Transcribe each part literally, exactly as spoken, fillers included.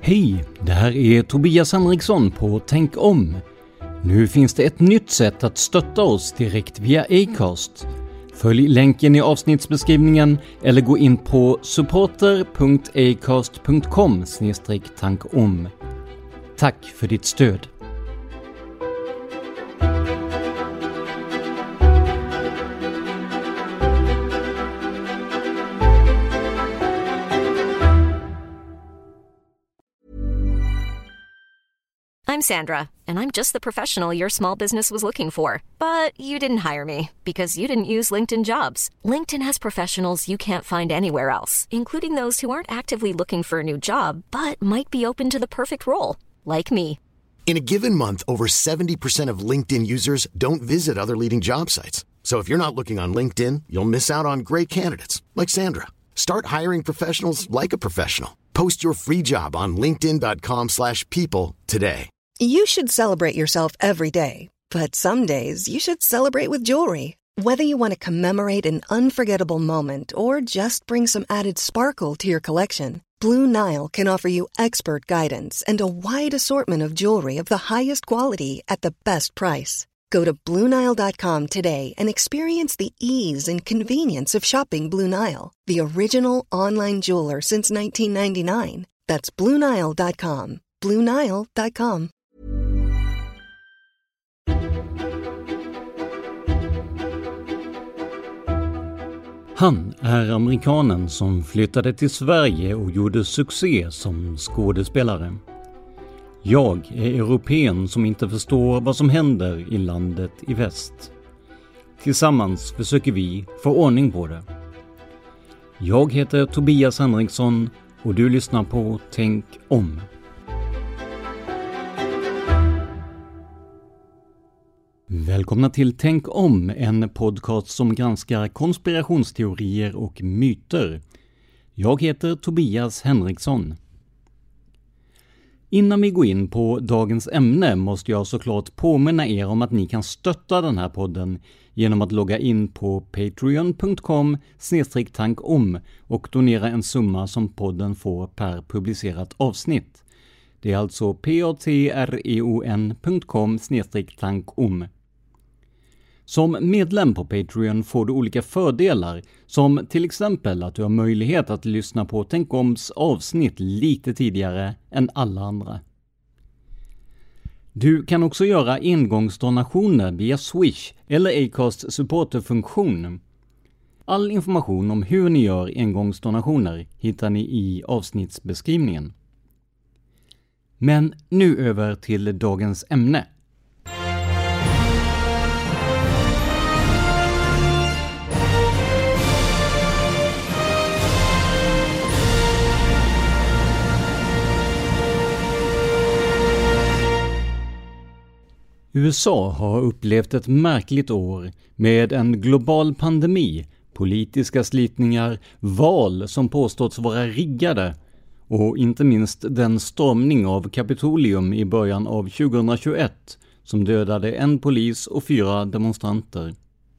Hej, det här är Tobias Henriksson på Tänk om. Nu finns det ett nytt sätt att stötta oss direkt via Acast. Följ länken i avsnittsbeskrivningen eller gå in på supporter punkt acast punkt com slash tankom. Tack för ditt stöd. I'm Sandra, and I'm just the professional your small business was looking for. But you didn't hire me because you didn't use LinkedIn Jobs. LinkedIn has professionals you can't find anywhere else, including those who aren't actively looking for a new job, but might be open to the perfect role, like me. In a given month, over seventy percent of LinkedIn users don't visit other leading job sites. So if you're not looking on LinkedIn, you'll miss out on great candidates, like Sandra. Start hiring professionals like a professional. Post your free job on linkedin dot com slash people today. You should celebrate yourself every day, but some days you should celebrate with jewelry. Whether you want to commemorate an unforgettable moment or just bring some added sparkle to your collection, Blue Nile can offer you expert guidance and a wide assortment of jewelry of the highest quality at the best price. Go to blue nile dot com today and experience the ease and convenience of shopping Blue Nile, the original online jeweler since nineteen ninety-nine. That's blue nile dot com. blue nile dot com. Han är amerikanen som flyttade till Sverige och gjorde succé som skådespelare. Jag är europén som inte förstår vad som händer i landet i väst. Tillsammans försöker vi få ordning på det. Jag heter Tobias Henriksson och du lyssnar på Tänk om. Välkomna till Tänk om, en podcast som granskar konspirationsteorier och myter. Jag heter Tobias Henriksson. Innan vi går in på dagens ämne måste jag såklart påminna er om att ni kan stötta den här podden genom att logga in på patreon punkt com slash tankom och donera en summa som podden får per publicerat avsnitt. Det är alltså patreon punkt com slash tankom. Som medlem på Patreon får du olika fördelar, som till exempel att du har möjlighet att lyssna på Tänk oms avsnitt lite tidigare än alla andra. Du kan också göra engångsdonationer via Swish eller Acasts supporterfunktion. All information om hur ni gör engångsdonationer hittar ni i avsnittsbeskrivningen. Men nu över till dagens ämne. U S A har upplevt ett märkligt år med en global pandemi, politiska slitningar, val som påståtts vara riggade och inte minst den stormning av Kapitolium i början av tjugohundratjugoett som dödade en polis och fyra demonstranter.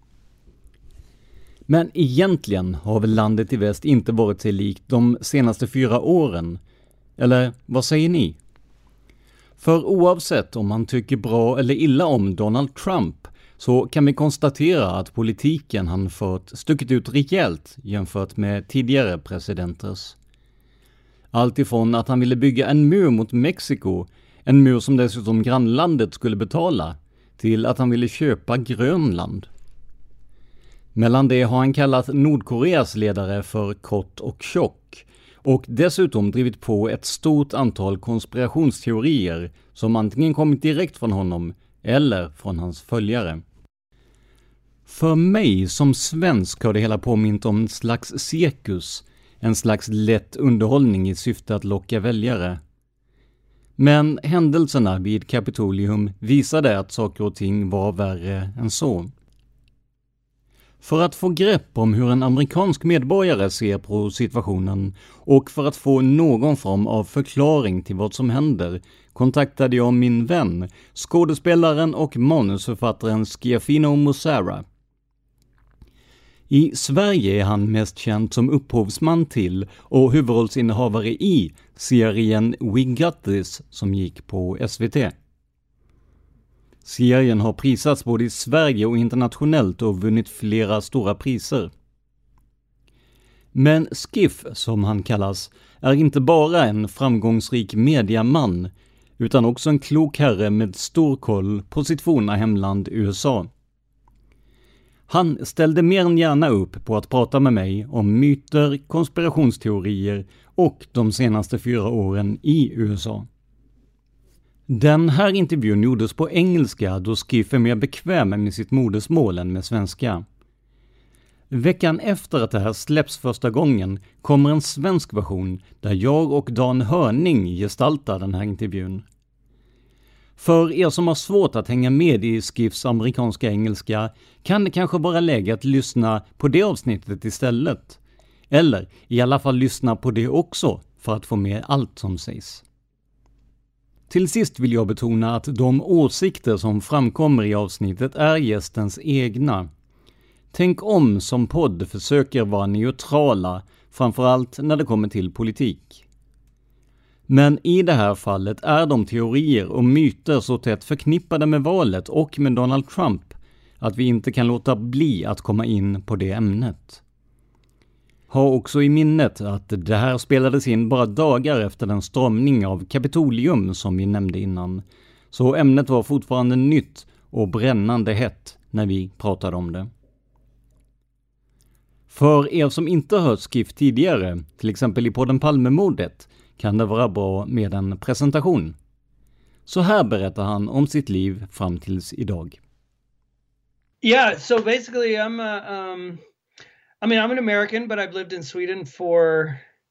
Men egentligen har väl landet i väst inte varit sig likt de senaste fyra åren. Eller vad säger ni? För oavsett om man tycker bra eller illa om Donald Trump så kan vi konstatera att politiken han fört stuckit ut rejält jämfört med tidigare presidenters. Allt ifrån att han ville bygga en mur mot Mexiko, en mur som dessutom grannlandet skulle betala, till att han ville köpa Grönland. Mellan det har han kallat Nordkoreas ledare för kort och tjock och dessutom drivit på ett stort antal konspirationsteorier som antingen kommit direkt från honom eller från hans följare. För mig som svensk har det hela påmint om en slags cirkus, en slags lätt underhållning i syfte att locka väljare. Men händelserna vid Kapitolium visade att saker och ting var värre än så. För att få grepp om hur en amerikansk medborgare ser på situationen och för att få någon form av förklaring till vad som händer kontaktade jag min vän, skådespelaren och manusförfattaren Schiaffino Mussara. I Sverige är han mest känd som upphovsman till och huvudrollsinnehavare i serien We Got This som gick på S V T. Serien har prisats både i Sverige och internationellt och vunnit flera stora priser. Men Skiff, som han kallas, är inte bara en framgångsrik mediaman utan också en klok herre med stor koll på sitt forna hemland U S A. Han ställde mer än gärna upp på att prata med mig om myter, konspirationsteorier och de senaste fyra åren i U S A. Den här intervjun gjordes på engelska då Skiff är mer bekväm med sitt modersmål än med svenska. Veckan efter att det här släpps första gången kommer en svensk version där jag och Dan Hörning gestaltar den här intervjun. För er som har svårt att hänga med i Skiffs amerikanska engelska kan det kanske vara läge att lyssna på det avsnittet istället. Eller i alla fall lyssna på det också för att få med allt som sägs. Till sist vill jag betona att de åsikter som framkommer i avsnittet är gästens egna. Tänk om som podd försöker vara neutrala, framförallt när det kommer till politik. Men i det här fallet är de teorier och myter så tätt förknippade med valet och med Donald Trump att vi inte kan låta bli att komma in på det ämnet. Ha också i minnet att det här spelades in bara dagar efter den stormning av Kapitolium som vi nämnde innan, så ämnet var fortfarande nytt och brännande hett när vi pratade om det. För er som inte hört Skiff tidigare, till exempel i podden Palmemordet, kan det vara bra med en presentation. Så här berättar han om sitt liv fram tills idag. Yeah, so basically I'm a, um, I mean, I'm an American, but I've lived in Sweden for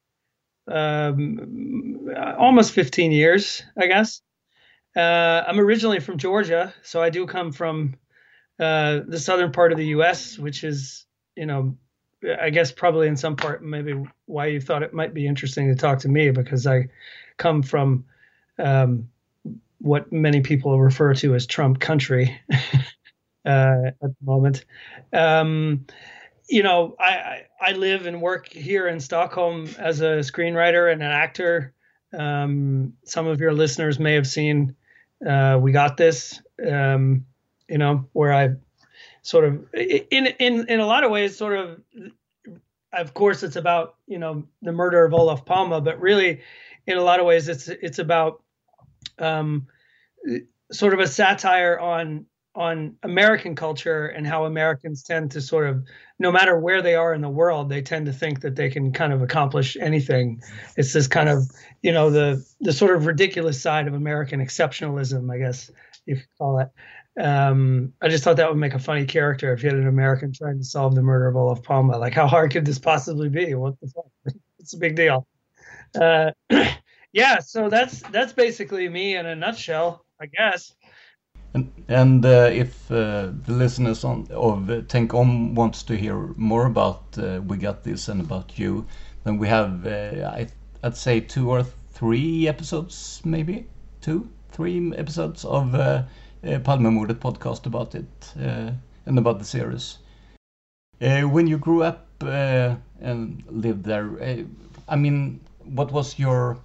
um, almost fifteen years, I guess. Uh, I'm originally from Georgia, so I do come from uh, the southern part of the U S, which is, you know, I guess probably in some part maybe why you thought it might be interesting to talk to me, because I come from um, what many people refer to as Trump country uh, at the moment. Um, you know, I, I, I live and work here in Stockholm as a screenwriter and an actor. Um, some of your listeners may have seen uh, We Got This, um, you know, where I sort of, in in in a lot of ways, sort of, of course, it's about, you know, the murder of Olof Palme, but really, in a lot of ways, it's it's about um, sort of a satire on on American culture and how Americans tend to sort of, no matter where they are in the world, they tend to think that they can kind of accomplish anything. It's this kind of, you know, the the sort of ridiculous side of American exceptionalism, I guess you could call it. Um, I just thought that would make a funny character if you had an American trying to solve the murder of Olof Palme. Like, how hard could this possibly be? What the fuck? It's a big deal. Uh, yeah, so that's that's basically me in a nutshell, I guess. And, and uh, if uh, the listeners on, of uh, Tänk Om wants to hear more about uh, We Got This and about you, then we have, uh, I, I'd say, two or three episodes, maybe? Two, three episodes of uh, uh, Palmemordet podcast about it uh, and about the series. Uh, when you grew up uh, and lived there, uh, I mean, what was your,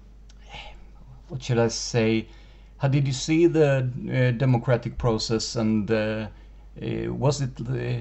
what should I say, how did you see the uh, democratic process, and uh, uh, was it the,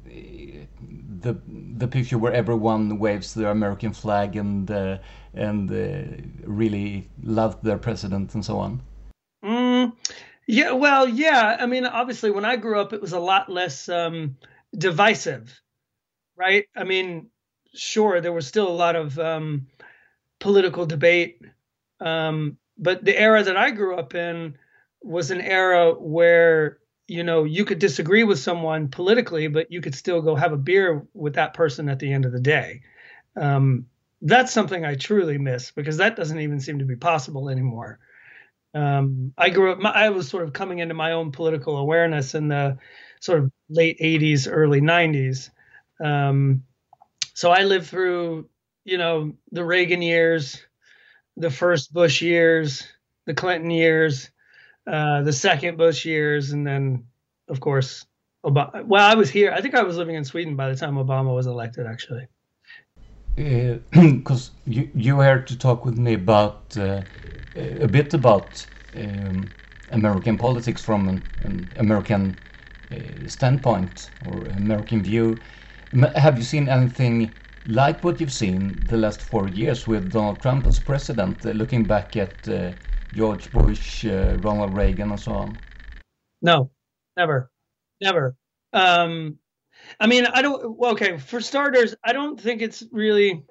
the the picture where everyone waves their American flag and uh, and uh, really loved their president and so on? Mm, yeah, well, yeah. I mean, obviously, when I grew up, it was a lot less um, divisive, right? I mean, sure, there was still a lot of um, political debate. Um, But the era that I grew up in was an era where, you know, you could disagree with someone politically, but you could still go have a beer with that person at the end of the day. Um, that's something I truly miss, because that doesn't even seem to be possible anymore. Um, I grew up, I was sort of coming into my own political awareness in the sort of late eighties, early nineties. Um, so I lived through, you know, the Reagan years, the first Bush years, the Clinton years, uh, the second Bush years, and then, of course, Obama. Well, I was here. I think I was living in Sweden by the time Obama was elected, actually. Because uh, you you were to talk with me about uh, a bit about um, American politics from an, an American uh, standpoint or American view. Have you seen anything like what you've seen the last four years with Donald Trump as president, uh, looking back at uh, George Bush, uh, Ronald Reagan, and so on? No, never, never. Um, I mean, I don't, well, okay, for starters, I don't think it's really,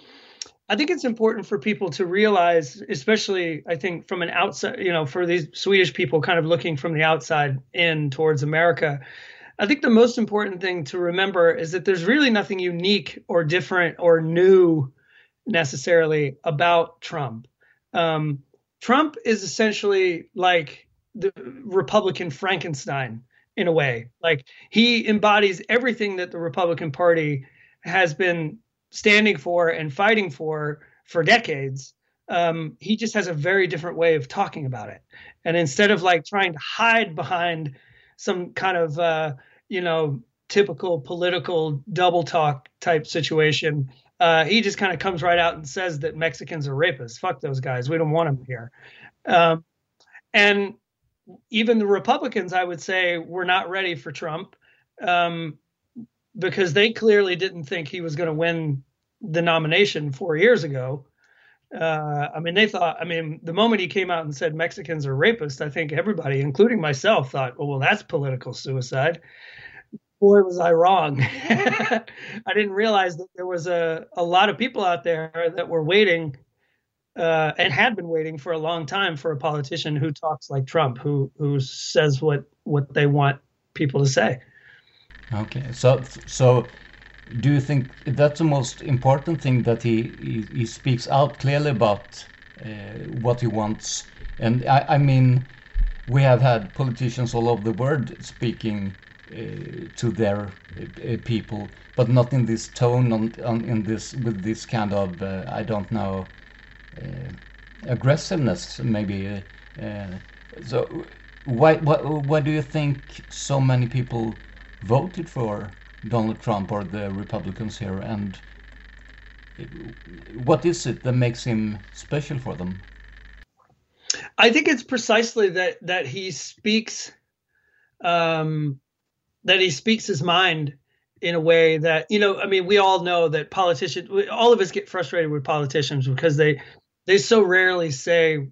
I think it's important for people to realize, especially, I think, from an outside, you know, for these Swedish people kind of looking from the outside in towards America, I think the most important thing to remember is that there's really nothing unique or different or new necessarily about Trump. Um, Trump is essentially like the Republican Frankenstein in a way. Like, he embodies everything that the Republican Party has been standing for and fighting for for decades. Um, he just has a very different way of talking about it. And instead of like trying to hide behind some kind of, uh, you know, typical political double talk type situation, uh, he just kind of comes right out and says that Mexicans are rapists. Fuck those guys. We don't want them here. Um, and even the Republicans, I would say, were not ready for Trump um, because they clearly didn't think he was going to win the nomination four years ago. Uh, I mean, they thought, I mean, the moment he came out and said Mexicans are rapists, I think everybody, including myself, thought, oh, well, that's political suicide. Boy, was I wrong. I didn't realize that there was a, a lot of people out there that were waiting uh, and had been waiting for a long time for a politician who talks like Trump, who who says what, what they want people to say. Okay, so so do you think that's the most important thing, that he, he, he speaks out clearly about uh, what he wants? And I, I mean, we have had politicians all over the world speaking uh, to their uh, people, but not in this tone, on, on in this with this kind of uh, I don't know uh, aggressiveness, maybe. Uh, uh, so why, why why do you think so many people voted for Donald Trump or the Republicans here, and what is it that makes him special for them? I think it's precisely that that he speaks um, that he speaks his mind in a way that, you know, I mean, we all know that politicians, all of us get frustrated with politicians because they they so rarely say.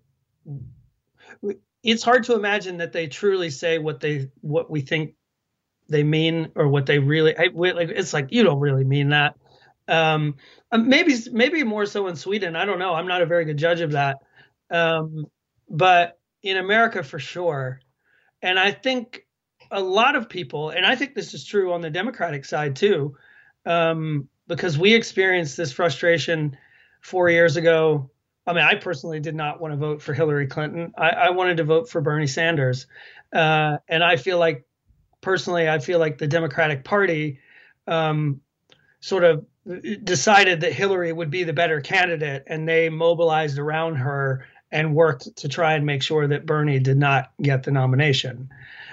It's hard to imagine that they truly say what they what we think they mean, or what they really, I, like, it's like, you don't really mean that. Um, maybe, maybe more so in Sweden. I don't know. I'm not a very good judge of that. Um, but in America, for sure. And I think a lot of people, and I think this is true on the Democratic side too, um, because we experienced this frustration four years ago. I mean, I personally did not want to vote for Hillary Clinton. I, I wanted to vote for Bernie Sanders. Uh, and I feel like, Personally, I feel like the Democratic Party um, sort of decided that Hillary would be the better candidate, and they mobilized around her and worked to try and make sure that Bernie did not get the nomination.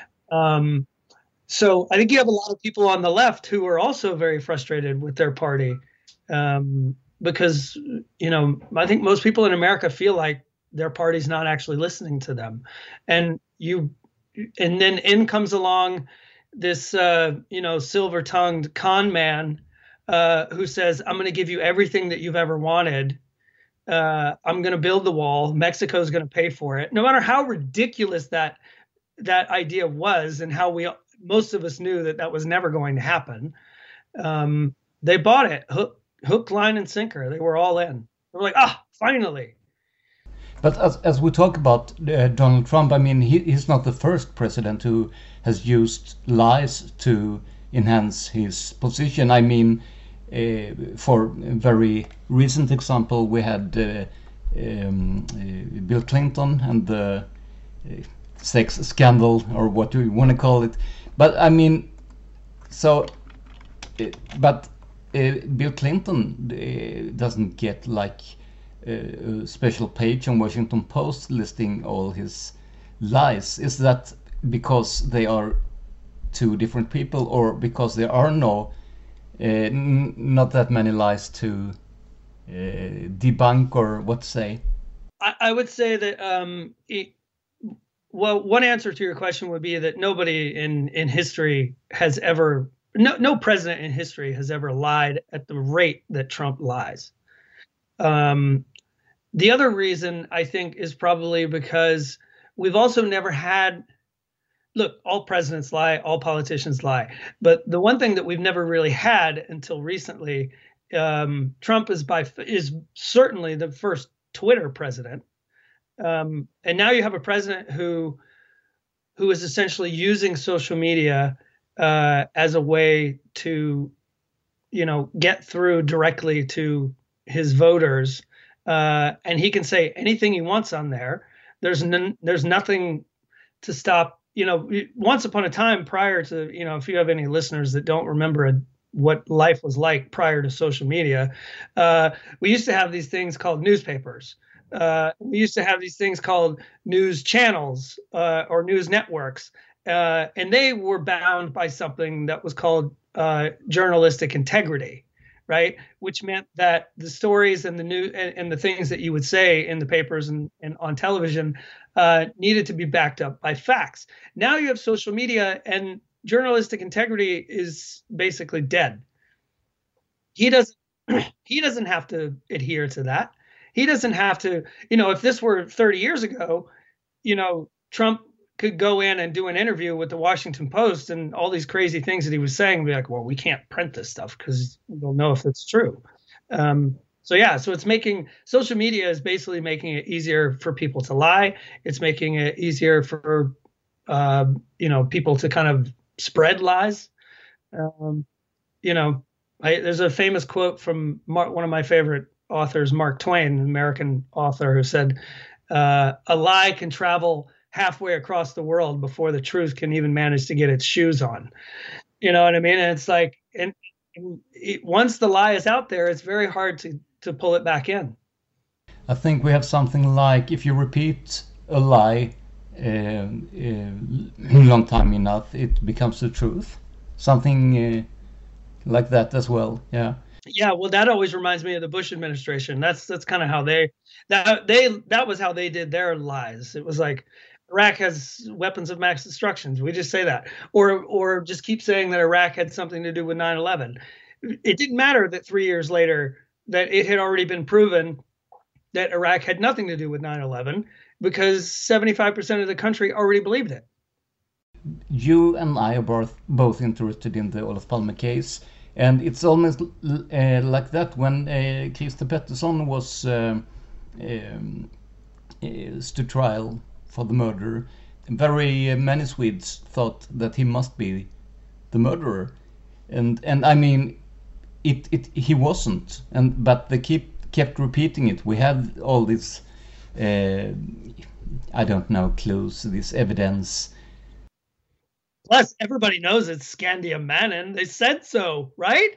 Um, so I think you have a lot of people on the left who are also very frustrated with their party um, because, you know, I think most people in America feel like their party's not actually listening to them. And you And then in comes along this, uh, you know, silver-tongued con man uh, who says, I'm going to give you everything that you've ever wanted. Uh, I'm going to build the wall. Mexico's going to pay for it. No matter how ridiculous that that idea was, and how we most of us knew that that was never going to happen, um, they bought it. Hook, hook, line, and sinker. They were all in. They were like, ah, finally. But as, as we talk about uh, Donald Trump, I mean, he, he's not the first president who has used lies to enhance his position. I mean, uh, for a very recent example, we had uh, um, uh, Bill Clinton and the uh, sex scandal, or what do you want to call it. But I mean, so, uh, but uh, Bill Clinton uh, doesn't get like a special page on Washington Post listing all his lies. Is that because they are two different people, or because there are no uh, n- not that many lies to uh, debunk, or what to say? I, I would say that um, it, well, one answer to your question would be that nobody in in history has ever, no no president in history has ever lied at the rate that Trump lies. Um, the other reason, I think, is probably because we've also never had, look, all presidents lie, all politicians lie. But the one thing that we've never really had until recently, um, Trump is by is certainly the first Twitter president. Um, and now you have a president who who is essentially using social media uh, as a way to, you know, get through directly to his voters. Uh, and he can say anything he wants on there. There's n- there's nothing to stop. You know, once upon a time prior to, you know, if you have any listeners that don't remember a, what life was like prior to social media, uh, we used to have these things called newspapers. Uh, we used to have these things called news channels uh, or news networks, uh, and they were bound by something that was called uh, journalistic integrity, right? Which meant that the stories and the new and, and the things that you would say in the papers and, and on television uh, needed to be backed up by facts. Now you have social media, and journalistic integrity is basically dead. He doesn't. He doesn't have to adhere to that. He doesn't have to, you know, if this were thirty years ago, you know, Trump could go in and do an interview with the Washington Post and all these crazy things that he was saying, and be like, well, we can't print this stuff because we don't know if it's true. Um, so, yeah, so it's making, social media is basically making it easier for people to lie. It's making it easier for, uh, you know, people to kind of spread lies. Um, you know, I, there's a famous quote from Mark, one of my favorite authors, Mark Twain, an American author, who said, uh, a lie can travel halfway across the world before the truth can even manage to get its shoes on. You know what I mean? And it's like, and, and it, once the lie is out there, it's very hard to, to pull it back in. I think we have something like, if you repeat a lie uh, uh, long time enough, it becomes the truth. Something uh, like that as well. Yeah. Yeah, well, that always reminds me of the Bush administration. That's that's kind of how they that they that was how they did their lies. It was like, Iraq has weapons of mass destruction. We just say that, or or just keep saying that Iraq had something to do with nine eleven. It didn't matter that three years later that it had already been proven that Iraq had nothing to do with nine eleven, because seventy-five percent of the country already believed it. You and I are both both interested in the Olof Palme case. And it's almost uh, like that when uh, Christer Pettersson was uh, um, uh, stood trial for the murder. Very uh, many Swedes thought that he must be the murderer, and and I mean, it it he wasn't. And but they keep kept repeating it. We had all this, uh, I don't know, clues, this evidence. Plus, everybody knows it's Skandia Mannen. They said so, right?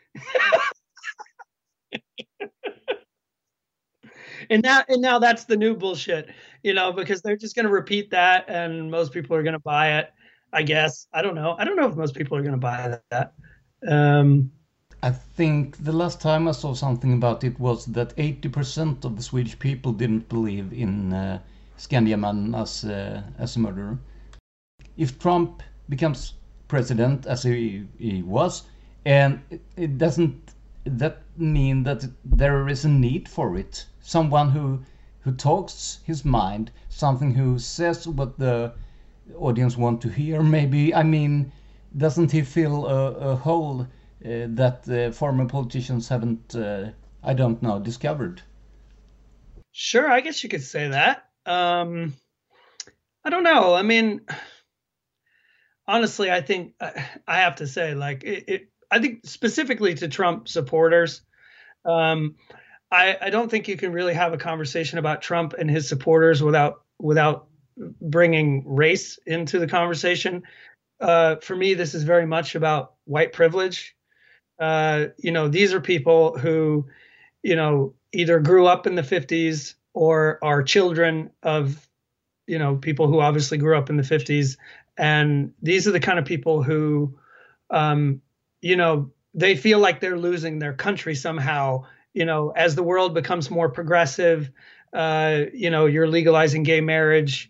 and now, and now that's the new bullshit, you know, because they're just going to repeat that, and most people are going to buy it. I guess. I don't know. I don't know if most people are going to buy that. Um, I think the last time I saw something about it was that eighty percent of the Swedish people didn't believe in uh, Skandia Mannen as uh, as a murderer. If Trump becomes president, as he, he was, and it, it doesn't that mean that there is a need for it, someone who who talks his mind, something who says what the audience want to hear. Maybe, I mean, doesn't he fill a, a hole uh, that uh, former politicians haven't uh, I don't know discovered? Sure, I guess you could say that. um I don't know. I mean, honestly, I think I have to say, like, it, it, I think specifically to Trump supporters, um, I, I don't think you can really have a conversation about Trump and his supporters without without bringing race into the conversation. Uh, for me, this is very much about white privilege. Uh, you know, these are people who, you know, either grew up in the fifties or are children of, you know, people who obviously grew up in the fifties. And these are the kind of people who, um, you know, they feel like they're losing their country somehow, you know, as the world becomes more progressive, uh, you know, you're legalizing gay marriage,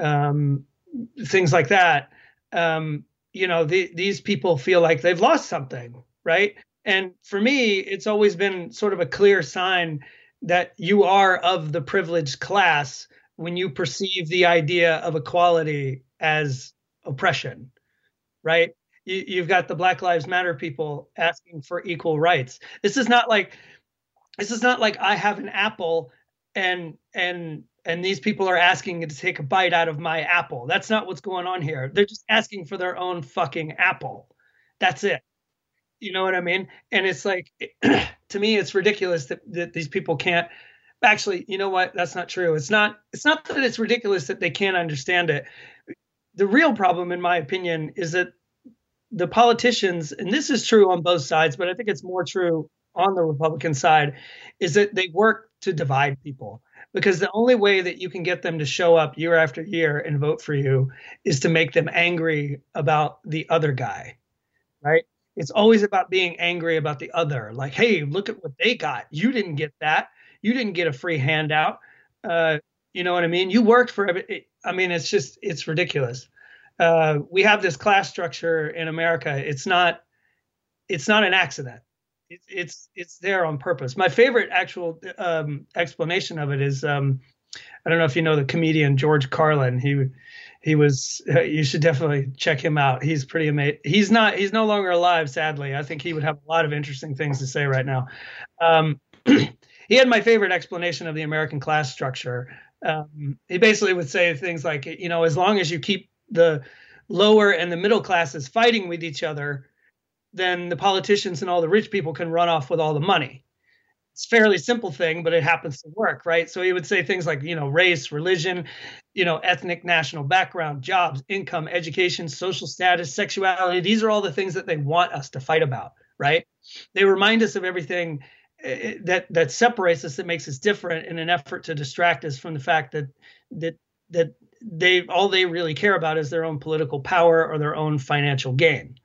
um, things like that. Um, you know, the, these people feel like they've lost something, right? And for me, it's always been sort of a clear sign that you are of the privileged class when you perceive the idea of equality as oppression, right? You, you've got the Black Lives Matter people asking for equal rights. This is not like, this is not like I have an apple and and and these people are asking to take a bite out of my apple. That's not what's going on here. They're just asking for their own fucking apple. That's it. You know what I mean? And it's like, to me, it's ridiculous that, that these people can't actually, you know what? That's not true. It's not, it's not that it's ridiculous that they can't understand it. The real problem, in my opinion, is that the politicians, and this is true on both sides, but I think it's more true on the Republican side, is that they work to divide people. Because the only way that you can get them to show up year after year and vote for you is to make them angry about the other guy, right? It's always about being angry about the other. Like, hey, look at what they got. You didn't get that. You didn't get a free handout. Uh, you know what I mean? You worked for it. I mean, it's just, it's ridiculous. Uh, we have this class structure in America. It's not, it's not an accident. It's, it's, it's there on purpose. My favorite actual um, explanation of it is, um, I don't know if you know the comedian George Carlin. He, he was, uh, you should definitely check him out. He's pretty amazing. He's not, he's no longer alive, sadly. I think he would have a lot of interesting things to say right now. Um, he had my favorite explanation of the American class structure. Um, he basically would say things like, you know, as long as you keep the lower and the middle classes fighting with each other, then the politicians and all the rich people can run off with all the money. It's a fairly simple thing, but it happens to work, right? So he would say things like, you know, race, religion, you know, ethnic, national background, jobs, income, education, social status, sexuality. These are all the things that they want us to fight about, right? They remind us of everything that that separates us, that makes us different, in an effort to distract us from the fact that that that they all they really care about is their own political power or their own financial gain.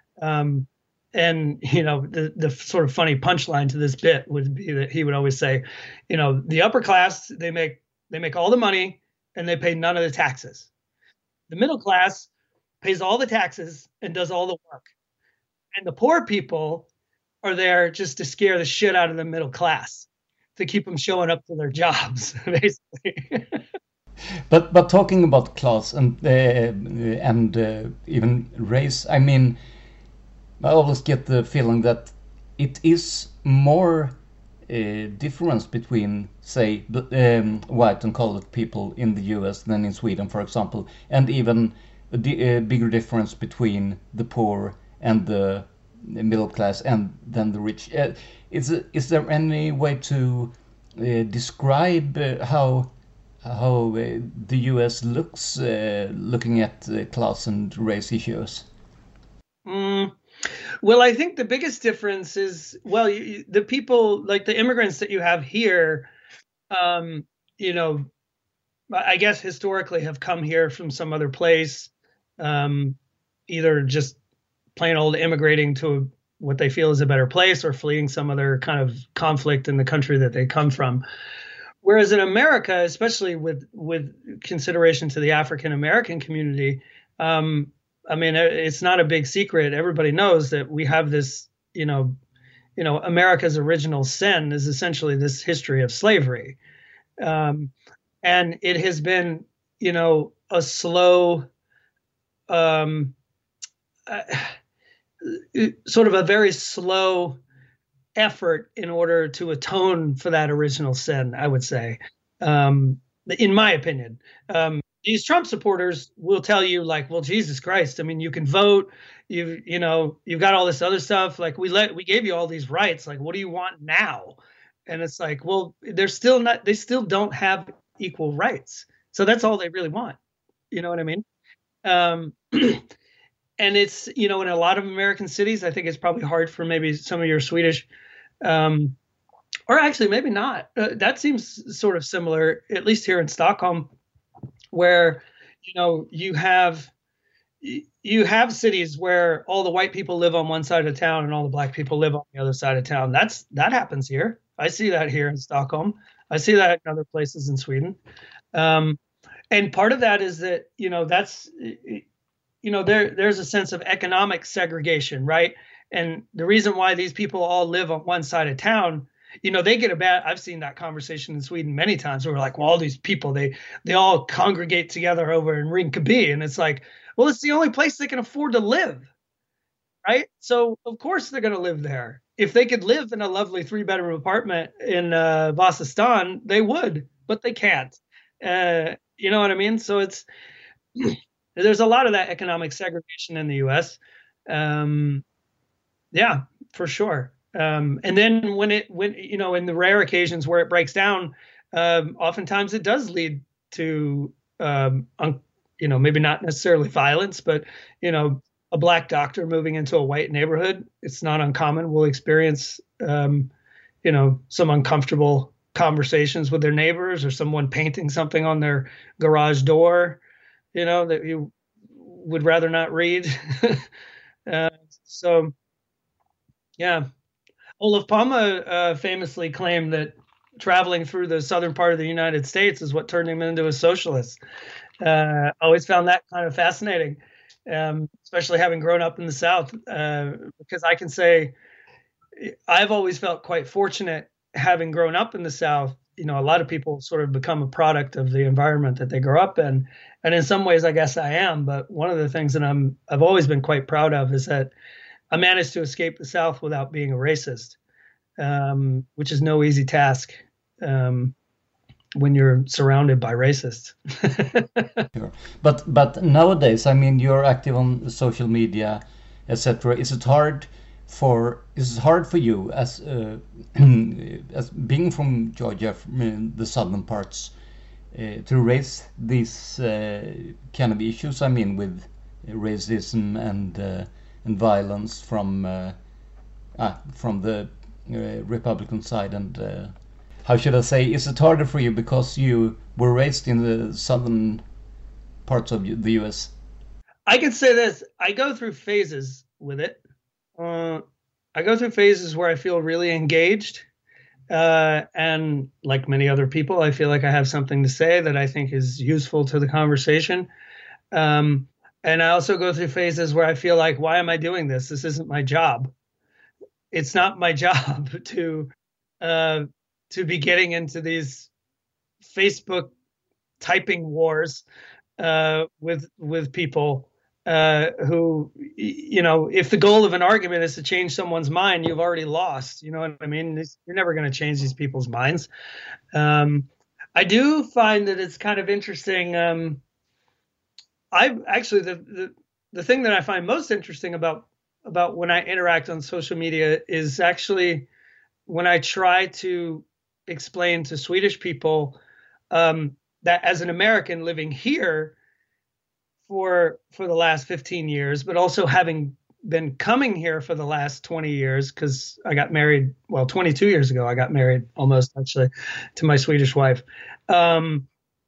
Um, and, you know, the, the sort of funny punchline to this bit would be that he would always say, you know, the upper class, they make they make all the money and they pay none of the taxes. The middle class pays all the taxes and does all the work. And the poor people are there just to scare the shit out of the middle class, to keep them showing up to their jobs, basically. But but talking about class and uh, and uh, even race, I mean, I always get the feeling that it is more uh, difference between, say, um, white and colored people in the U S than in Sweden, for example, and even a, di- a bigger difference between the poor and the middle class and then the rich. Uh, is is there any way to uh, describe uh, how how uh, the U S looks uh, looking at uh, class and race issues? Mm. Well, I think the biggest difference is, well, you, the people, like the immigrants that you have here, um, you know, I guess historically have come here from some other place, um, either just plain old immigrating to what they feel is a better place or fleeing some other kind of conflict in the country that they come from. Whereas in America, especially with with consideration to the African American community, um, I mean, it's not a big secret. Everybody knows that we have this, you know, you know, America's original sin is essentially this history of slavery. Um, and it has been, you know, a slow, um, uh, sort of a very slow effort in order to atone for that original sin, I would say, um, in my opinion. Um, these Trump supporters will tell you, like, well, Jesus Christ, I mean, you can vote, you you know, you've got all this other stuff. Like, we let we gave you all these rights. Like, what do you want now? And it's like, well, they're still not, they still don't have equal rights. So that's all they really want. You know what I mean? Um, and it's, you know, in a lot of American cities, I think it's probably hard for maybe some of your Swedish, um, or actually maybe not. Uh, that seems sort of similar, at least here in Stockholm. where, you know, you have you have cities where all the white people live on one side of town and all the black people live on the other side of town. That's that happens here. I see that here in Stockholm. I see that in other places in Sweden. Um, and part of that is that, you know, that's, you know, there there's a sense of economic segregation, right? And the reason why these people all live on one side of town, you know, they get a bad, I've seen that conversation in Sweden many times where we're like, well, all these people, they they all congregate together over in Rinkeby. And it's like, well, it's the only place they can afford to live, right? So of course they're going to live there. If they could live in a lovely three bedroom apartment in uh, Vasastan, they would, but they can't. Uh, you know what I mean? So it's, there's a lot of that economic segregation in the U S. Um, yeah, for sure. Um, and then when it, when, you know, in the rare occasions where it breaks down, um, oftentimes it does lead to, um, un- you know, maybe not necessarily violence, but, you know, a black doctor moving into a white neighborhood, it's not uncommon. We'll experience, um, you know, some uncomfortable conversations with their neighbors, or someone painting something on their garage door, you know, that you would rather not read. uh, so, yeah. Olaf Palme uh, famously claimed that traveling through the southern part of the United States is what turned him into a socialist. Uh, always found that kind of fascinating, um, especially having grown up in the South, uh, because I can say I've always felt quite fortunate having grown up in the South. You know, a lot of people sort of become a product of the environment that they grow up in. And in some ways, I guess I am. But one of the things that I'm, I've always been quite proud of is that I managed to escape the South without being a racist, um, which is no easy task. Um, when you're surrounded by racists. Sure. But but nowadays, I mean, you're active on social media, et cetera. Is it hard for is it hard for you as uh, as being from Georgia, from the southern parts, uh, to raise these uh, kind of issues? I mean, with racism and uh, and violence from uh, ah, from the uh, Republican side and. Uh, How should I say? Is it harder for you because you were raised in the southern parts of the U S? I could say this. I go through phases with it. Uh, I go through phases where I feel really engaged. Uh, and like many other people, I feel like I have something to say that I think is useful to the conversation. Um, and I also go through phases where I feel like, why am I doing this? This isn't my job. It's not my job to... Uh, to be getting into these Facebook typing wars uh, with with people uh, who, you know, if the goal of an argument is to change someone's mind, you've already lost. You know what I mean? It's, you're never going to change these people's minds. Um, I do find that it's kind of interesting. Um, I actually the, the the thing that I find most interesting about about when I interact on social media is actually when I try to explain to Swedish people um, that as an American living here for for the last fifteen years, but also having been coming here for the last twenty years, because I got married, well, twenty-two years ago, I got married almost actually to my Swedish wife. Um,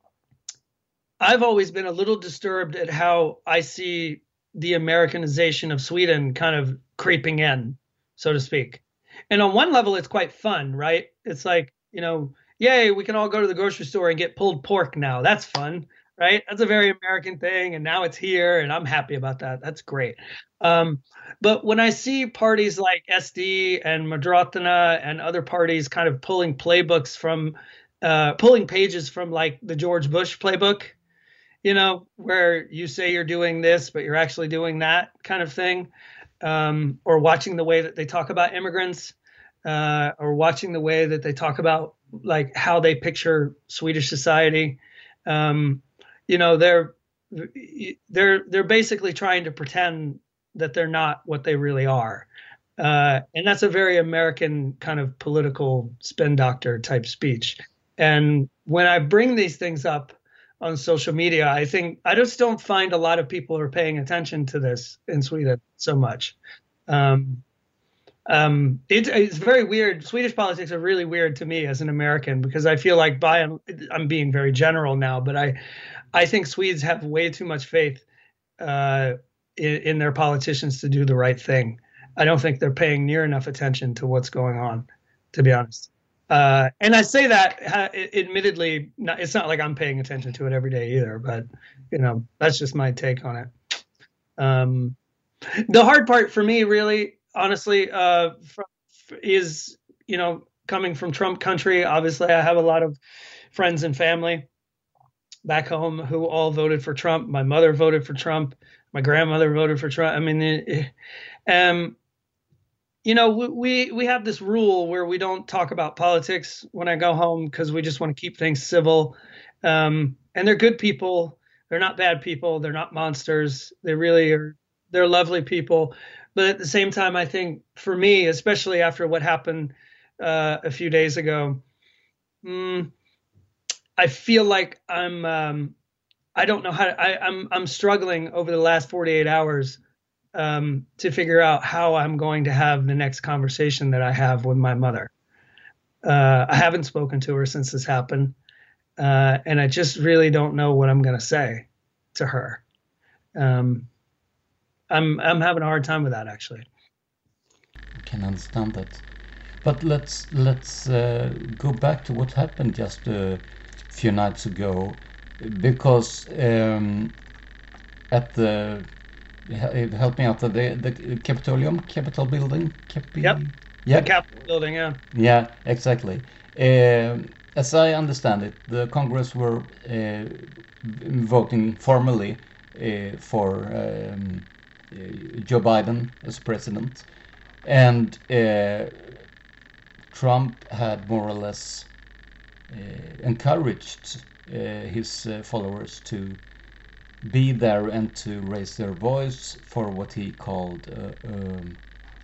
I've always been a little disturbed at how I see the Americanization of Sweden kind of creeping in, so to speak. And on one level, it's quite fun, right? It's like, you know, yay, we can all go to the grocery store and get pulled pork now. That's fun, right? That's a very American thing. And now it's here and I'm happy about that. That's great. Um, but when I see parties like S D and Moderaterna and other parties kind of pulling playbooks from, uh, pulling pages from like the George Bush playbook, you know, where you say you're doing this, but you're actually doing that kind of thing. Um, or watching the way that they talk about immigrants, uh, or watching the way that they talk about like how they picture Swedish society. Um, you know, they're they're they're basically trying to pretend that they're not what they really are, uh, and that's a very American kind of political spin doctor type speech. And when I bring these things up on social media, I think I just don't find a lot of people are paying attention to this in Sweden so much. Um, Um, it, it's very weird. Swedish politics are really weird to me as an American because I feel like by and I'm being very general now, but I, I think Swedes have way too much faith uh, in, in their politicians to do the right thing. I don't think they're paying near enough attention to what's going on, to be honest. Uh, and I say that uh, admittedly, not, it's not like I'm paying attention to it every day either, but you know, that's just my take on it. Um, the hard part for me, really, honestly, uh, from, is, you know, coming from Trump country. Obviously, I have a lot of friends and family back home who all voted for Trump. My mother voted for Trump. My grandmother voted for Trump. I mean, it, it, um, you know, we we have this rule where we don't talk about politics when I go home because we just want to keep things civil. Um, and they're good people. They're not bad people. They're not monsters. They really are. They're lovely people. But at the same time, I think for me, especially after what happened uh, a few days ago, mm, I feel like I'm. Um, I don't know how to, I, I'm. I'm struggling over the last forty-eight hours um, to figure out how I'm going to have the next conversation that I have with my mother. Uh, I haven't spoken to her since this happened, uh, and I just really don't know what I'm going to say to her. Um, I'm I'm having a hard time with that, actually. I can understand that, but let's let's uh, go back to what happened just a few nights ago, because um, at the help me out the the Capitolium Capitol building. Capi- yep. Yeah. The Capitol building. Yeah. Yeah. Exactly. Uh, as I understand it, the Congress were uh, voting formally uh, for. Um, Joe Biden as president, and uh, Trump had more or less uh, encouraged uh, his uh, followers to be there and to raise their voice for what he called uh, um,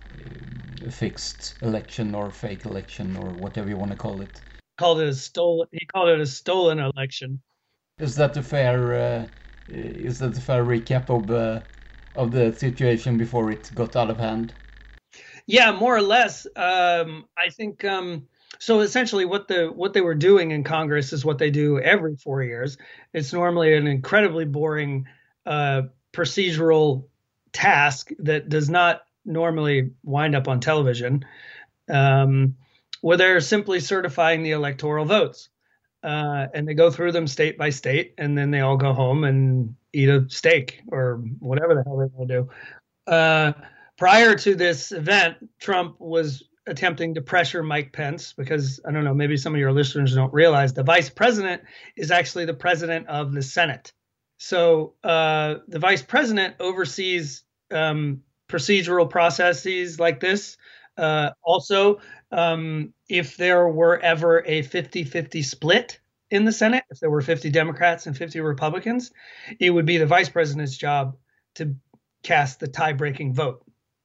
a fixed election or fake election or whatever you want to call it. Called it a stolen. He called it a stolen election. Is that a fair? Uh, is that a fair recap of? Uh, of the situation before it got out of hand? Yeah, more or less. Um, I think um, so. Essentially, what the what they were doing in Congress is what they do every four years. It's normally an incredibly boring uh, procedural task that does not normally wind up on television, um, where they're simply certifying the electoral votes. Uh, and they go through them state by state, and then they all go home and eat a steak or whatever the hell they want to do. Uh, prior to this event, Trump was attempting to pressure Mike Pence because, I don't know, maybe some of your listeners don't realize the vice president is actually the president of the Senate. So uh, the vice president oversees um, procedural processes like this. Uh, also, um, if there were ever a fifty-fifty split in the Senate, if there were fifty Democrats and fifty Republicans, it would be the vice president's job to cast the tie-breaking vote.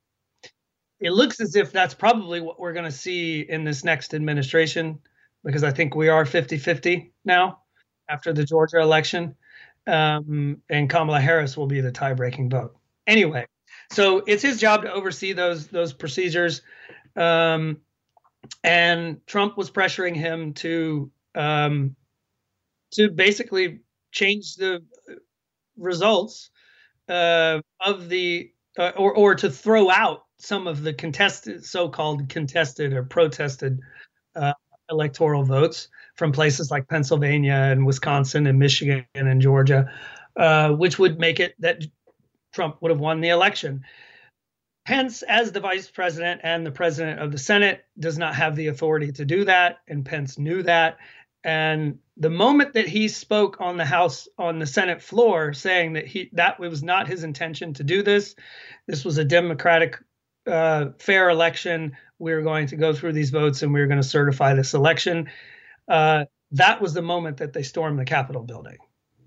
It looks as if that's probably what we're going to see in this next administration, because I think we are fifty-fifty now after the Georgia election, um, and Kamala Harris will be the tie-breaking vote. Anyway, so it's his job to oversee those those procedures. Um, and Trump was pressuring him to um, to basically change the results uh, of the uh, or or to throw out some of the contested, so-called contested or protested uh, electoral votes from places like Pennsylvania and Wisconsin and Michigan and Georgia, uh, which would make it that Trump would have won the election. Pence, as the vice president and the president of the Senate, does not have the authority to do that, and Pence knew that. And the moment that he spoke on the House, on the Senate floor, saying that he that was not his intention to do this, this was a democratic, uh, fair election. We were going to go through these votes and we were going to certify this election. Uh, that was the moment that they stormed the Capitol building.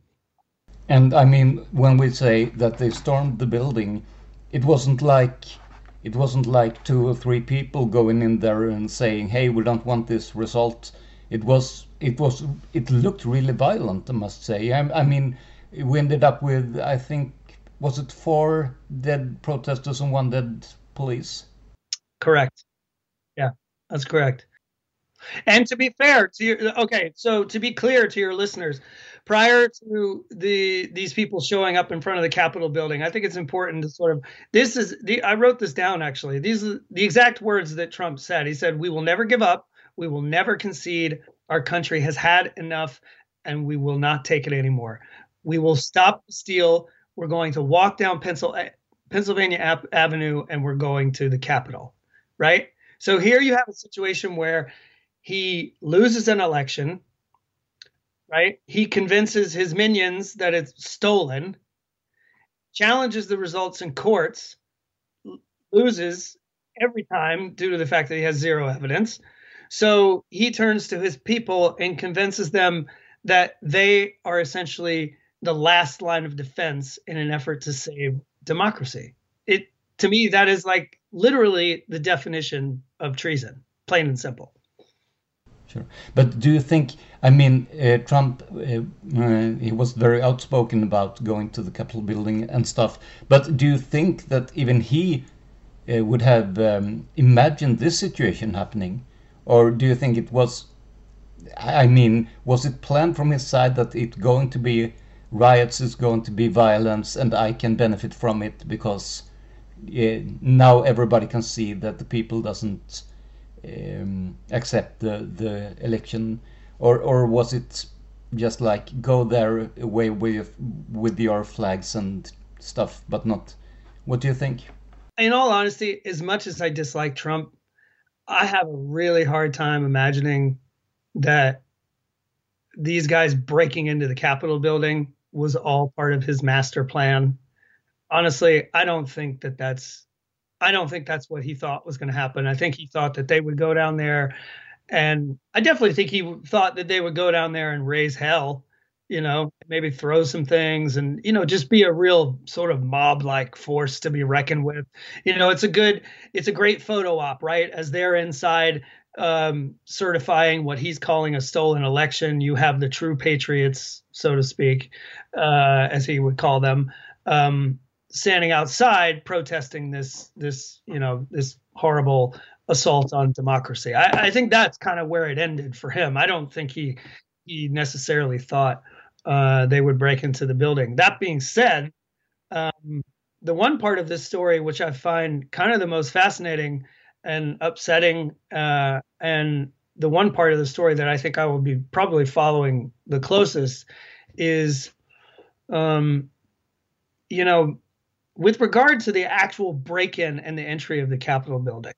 And I mean, when we say that they stormed the building, it wasn't like it wasn't like two or three people going in there and saying, "Hey, we don't want this result." It was it was it looked really violent, I must say. I, I mean, we ended up with, I think, was it four dead protesters and one dead police? Correct. Yeah, that's correct. And to be fair to your, okay, so to be clear to your listeners, prior to the these people showing up in front of the Capitol building, I think it's important to sort of, this is the, I wrote this down actually. These are the exact words that Trump said. He said, "We will never give up. We will never concede. Our country has had enough and we will not take it anymore. We will stop the steal. We're going to walk down Pencil, Pennsylvania Ave- Avenue and we're going to the Capitol," right? So here you have a situation where he loses an election, right? He convinces his minions that it's stolen, challenges the results in courts, loses every time due to the fact that he has zero evidence. So he turns to his people and convinces them that they are essentially the last line of defense in an effort to save democracy. It, to me, that is like literally the definition of treason, plain and simple. Sure. But do you think, I mean, uh, Trump, uh, uh, he was very outspoken about going to the Capitol building and stuff, but do you think that even he uh, would have um, imagined this situation happening? Or do you think it was, I mean, was it planned from his side that it's going to be riots, it's going to be violence, and I can benefit from it because uh, now everybody can see that the people doesn't Um, accept the the election, or or was it just like go there away with with your flags and stuff, but not? What do you think? In all honesty, as much as I dislike Trump, I have a really hard time imagining that these guys breaking into the Capitol building was all part of his master plan. Honestly, I don't think that that's I don't think that's what he thought was going to happen. I think he thought that they would go down there, and I definitely think he thought that they would go down there and raise hell, you know, maybe throw some things and, you know, just be a real sort of mob-like force to be reckoned with. You know, it's a good, it's a great photo op, right? As they're inside um, certifying what he's calling a stolen election, you have the true patriots, so to speak, uh, as he would call them, um, standing outside protesting this, this, you know, this horrible assault on democracy. I, I think that's kind of where it ended for him. I don't think he he necessarily thought uh, they would break into the building. That being said, um, the one part of this story which I find kind of the most fascinating and upsetting, uh, and the one part of the story that I think I will be probably following the closest is, um, you know, with regard to the actual break-in and the entry of the Capitol building,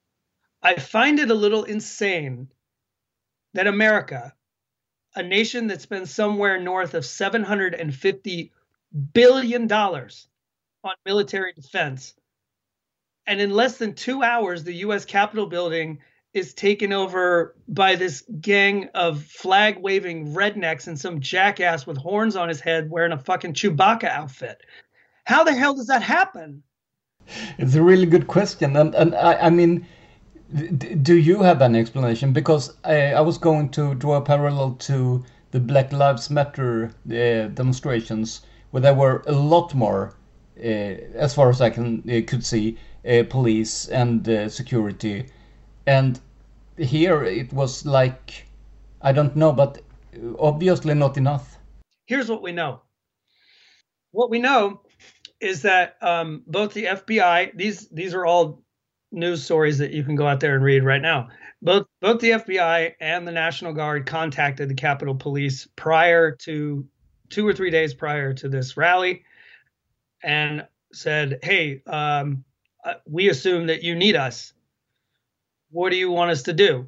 I find it a little insane that America, a nation that spends somewhere north of seven hundred fifty billion dollars on military defense, and in less than two hours, the U S Capitol building is taken over by this gang of flag-waving rednecks and some jackass with horns on his head wearing a fucking Chewbacca outfit. How the hell does that happen? It's a really good question, and and I, I mean, do you have an explanation? Because I, I was going to draw a parallel to the Black Lives Matter uh, demonstrations, where there were a lot more, uh, as far as I can uh, could see, uh, police and uh, security, and here it was like, I don't know, but obviously not enough. Here's what we know. What we know is that um, both the F B I, these these are all news stories that you can go out there and read right now. Both both the F B I and the National Guard contacted the Capitol Police prior to two or three days prior to this rally and said, "Hey, um, we assume that you need us. What do you want us to do?"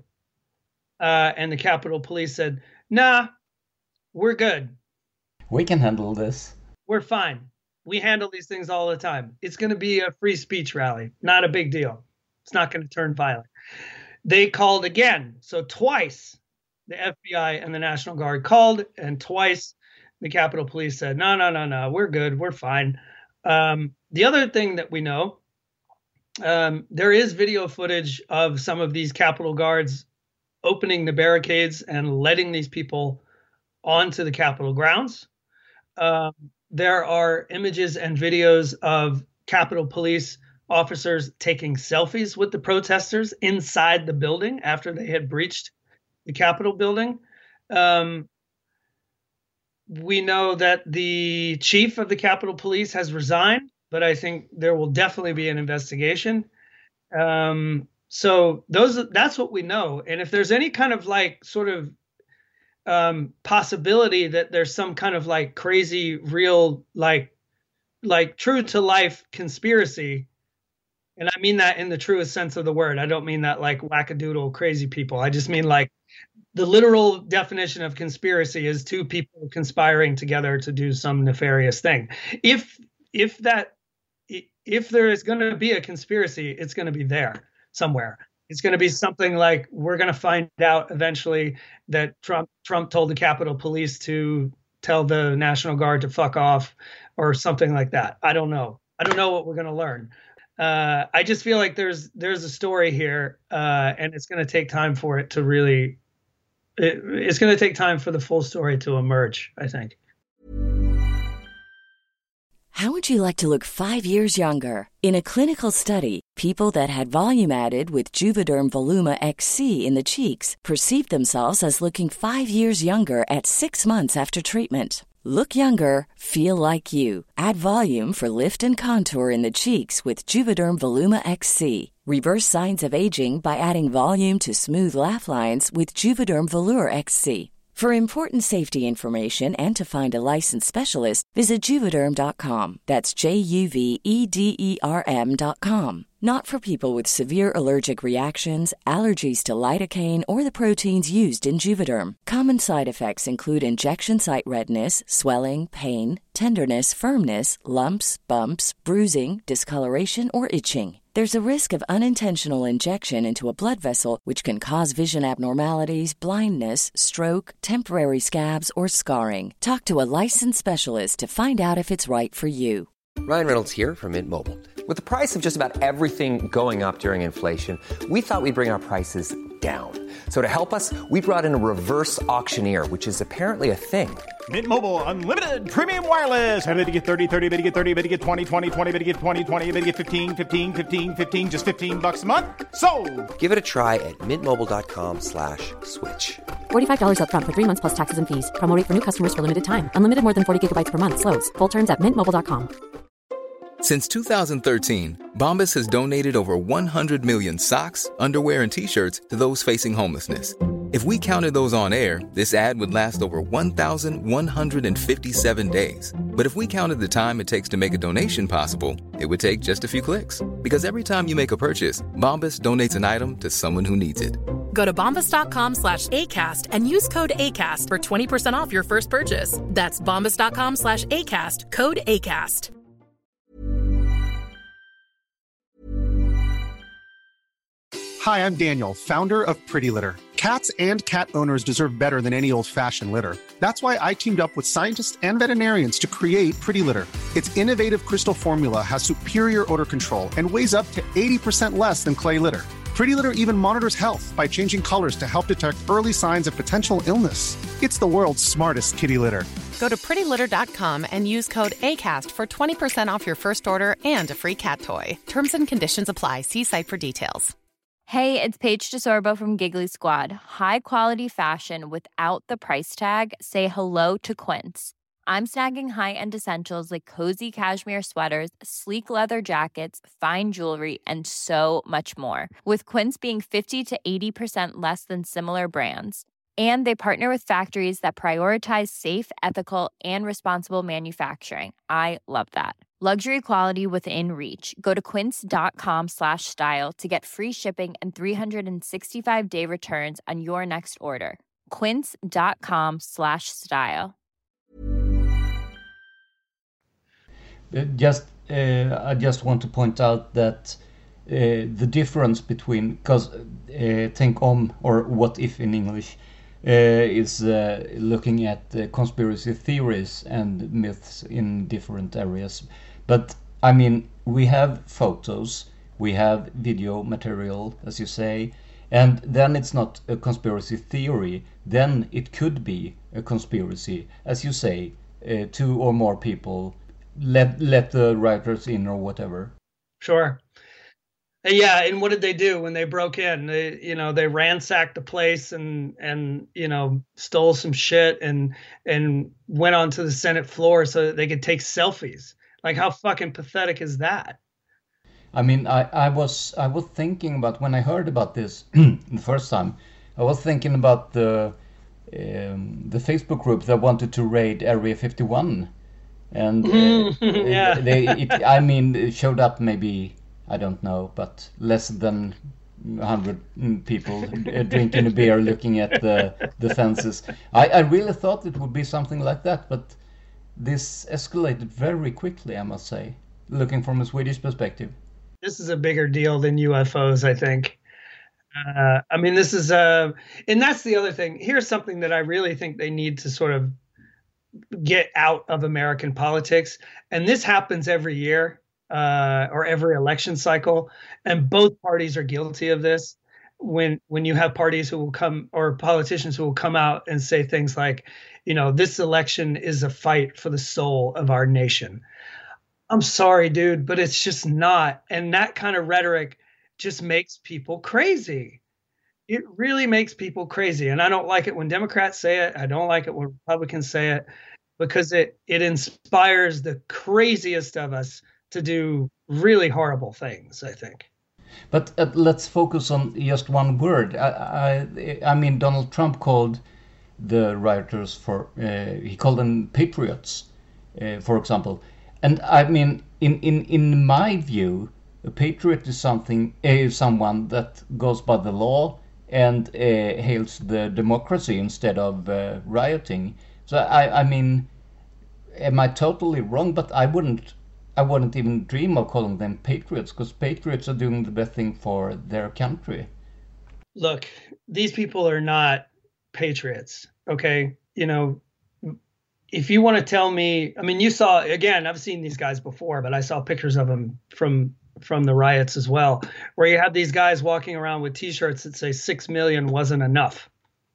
Uh, and the Capitol Police said, "Nah, we're good. We can handle this. We're fine. We handle these things all the time. It's going to be a free speech rally. Not a big deal. It's not going to turn violent." They called again. So twice the F B I and the National Guard called, and twice the Capitol Police said, no, no, no, no, we're good. We're fine. Um, the other thing that we know, um, there is video footage of some of these Capitol Guards opening the barricades and letting these people onto the Capitol grounds. Um, there are images and videos of Capitol Police officers taking selfies with the protesters inside the building after they had breached the Capitol building. Um, we know that the chief of the Capitol Police has resigned, but I think there will definitely be an investigation. Um, so those that's what we know. And if there's any kind of like sort of um, possibility that there's some kind of like crazy, real, like like true to life conspiracy, and I mean that in the truest sense of the word. I don't mean that like wackadoodle crazy people. I just mean like the literal definition of conspiracy is two people conspiring together to do some nefarious thing. If if that if there is going to be a conspiracy, it's going to be there somewhere. It's going to be something like we're going to find out eventually that Trump Trump told the Capitol Police to tell the National Guard to fuck off or something like that. I don't know. I don't know what we're going to learn. Uh, I just feel like there's there's a story here, uh, and it's going to take time for it to really. It, it's going to take time for the full story to emerge, I think. How would you like to look five years younger? In a clinical study, people that had volume added with Juvederm Voluma X C in the cheeks perceived themselves as looking five years younger at six months after treatment. Look younger, feel like you. Add volume for lift and contour in the cheeks with Juvederm Voluma X C. Reverse signs of aging by adding volume to smooth laugh lines with Juvederm Volure X C. For important safety information and to find a licensed specialist, visit Juvederm dot com. That's J U V E D E R M dot com. Not for people with severe allergic reactions, allergies to lidocaine, or the proteins used in Juvederm. Common side effects include injection site redness, swelling, pain, tenderness, firmness, lumps, bumps, bruising, discoloration, or itching. There's a risk of unintentional injection into a blood vessel, which can cause vision abnormalities, blindness, stroke, temporary scabs, or scarring. Talk to a licensed specialist to find out if it's right for you. Ryan Reynolds here from Mint Mobile. With the price of just about everything going up during inflation, we thought we'd bring our prices down. So to help us, we brought in a reverse auctioneer, which is apparently a thing. Mint Mobile Unlimited Premium Wireless. How to get thirty, thirty, how to get thirty, how to get twenty, twenty, twenty, how to get twenty, twenty, how to get fifteen, fifteen, fifteen, fifteen, just fifteen bucks a month? Sold! Give it a try at mintmobile.com slash switch. forty-five dollars up front for three months plus taxes and fees. Promo rate for new customers for limited time. Unlimited more than forty gigabytes per month. Slows full terms at mint mobile dot com. Since two thousand thirteen, Bombas has donated over one hundred million socks, underwear, and T-shirts to those facing homelessness. If we counted those on air, this ad would last over one thousand one hundred fifty-seven days. But if we counted the time it takes to make a donation possible, it would take just a few clicks. Because every time you make a purchase, Bombas donates an item to someone who needs it. Go to bombas.com slash ACAST and use code ACAST for twenty percent off your first purchase. That's bombas.com slash ACAST, code ACAST. Hi, I'm Daniel, founder of Pretty Litter. Cats and cat owners deserve better than any old-fashioned litter. That's why I teamed up with scientists and veterinarians to create Pretty Litter. Its innovative crystal formula has superior odor control and weighs up to eighty percent less than clay litter. Pretty Litter even monitors health by changing colors to help detect early signs of potential illness. It's the world's smartest kitty litter. Go to pretty litter dot com and use code ACAST for twenty percent off your first order and a free cat toy. Terms and conditions apply. See site for details. Hey, it's Paige DeSorbo from Giggly Squad. High quality fashion without the price tag. Say hello to Quince. I'm snagging high-end essentials like cozy cashmere sweaters, sleek leather jackets, fine jewelry, and so much more. With Quince being fifty to eighty percent less than similar brands. And they partner with factories that prioritize safe, ethical, and responsible manufacturing. I love that. Luxury quality within reach. Go to quince.com slash style to get free shipping and three sixty-five day returns on your next order. Quince.com slash style. Just, uh, I just want to point out that uh, the difference between, because uh, Tänk om, or What If in English, uh, is uh, looking at uh, conspiracy theories and myths in different areas. But I mean, we have photos, we have video material, as you say, and then it's not a conspiracy theory, then it could be a conspiracy, as you say, uh, two or more people let let the writers in or whatever. Sure. Yeah, and what did they do when they broke in? They, you know, they ransacked the place and and you know stole some shit and and went onto the Senate floor so that they could take selfies. Like, how fucking pathetic is that? I mean, I, I was I was thinking about when I heard about this the first time. I was thinking about the um, the Facebook group that wanted to raid Area fifty-one, and uh, yeah, they it, I mean, it showed up maybe, I don't know, but less than a hundred people drinking a beer, looking at the the fences. I, I really thought it would be something like that, but this escalated very quickly, I must say, looking from a Swedish perspective. This is a bigger deal than U F Os, I think. Uh, I mean, this is uh, and that's the other thing. Here's something that I really think they need to sort of get out of American politics, and this happens every year. Uh, or every election cycle, and both parties are guilty of this. When when you have parties who will come, or politicians who will come out and say things like, you know, this election is a fight for the soul of our nation. I'm sorry, dude, but it's just not. And that kind of rhetoric just makes people crazy. It really makes people crazy. And I don't like it when Democrats say it. I don't like it when Republicans say it, because it it inspires the craziest of us to do really horrible things, I think. But uh, let's focus on just one word. I, I, I mean, Donald Trump called the rioters for, uh, he called them patriots, uh, for example. And I mean, in, in, in my view, a patriot is something, uh, someone that goes by the law and uh, hails the democracy instead of uh, rioting. So I, I mean, am I totally wrong? But I wouldn't I wouldn't even dream of calling them patriots, because patriots are doing the best thing for their country. Look, these people are not patriots, okay? You know, if you want to tell me, I mean, you saw, again, I've seen these guys before, but I saw pictures of them from from the riots as well, where you have these guys walking around with T-shirts that say six million wasn't enough,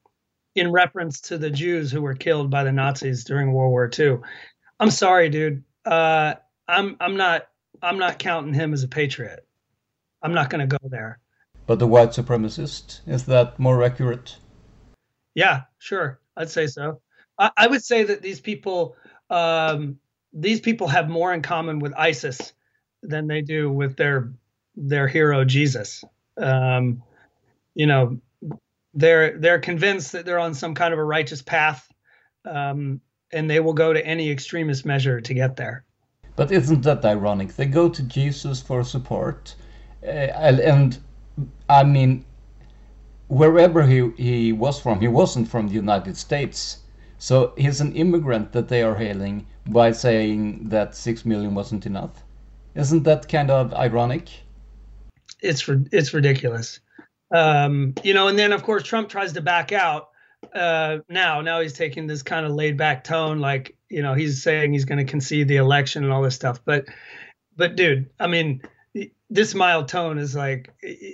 in reference to the Jews who were killed by the Nazis during World War Two. I'm sorry, dude. Uh, I'm I'm not I'm not counting him as a patriot. I'm not going to go there. But the white supremacist, is that more accurate? Yeah, sure. I'd say so. I, I would say that these people um, these people have more in common with ISIS than they do with their their hero Jesus. Um, you know, they're they're convinced that they're on some kind of a righteous path, um, and they will go to any extremist measure to get there. But isn't that ironic? They go to Jesus for support, uh, and I mean, wherever he, he was from, he wasn't from the United States. So he's an immigrant that they are hailing by saying that six million wasn't enough. Isn't that kind of ironic? It's it's ridiculous. Um, you know, and then, of course, Trump tries to back out. Uh, now, now he's taking this kind of laid back tone, like, you know, he's saying he's going to concede the election and all this stuff. But, but dude, I mean, this mild tone is like,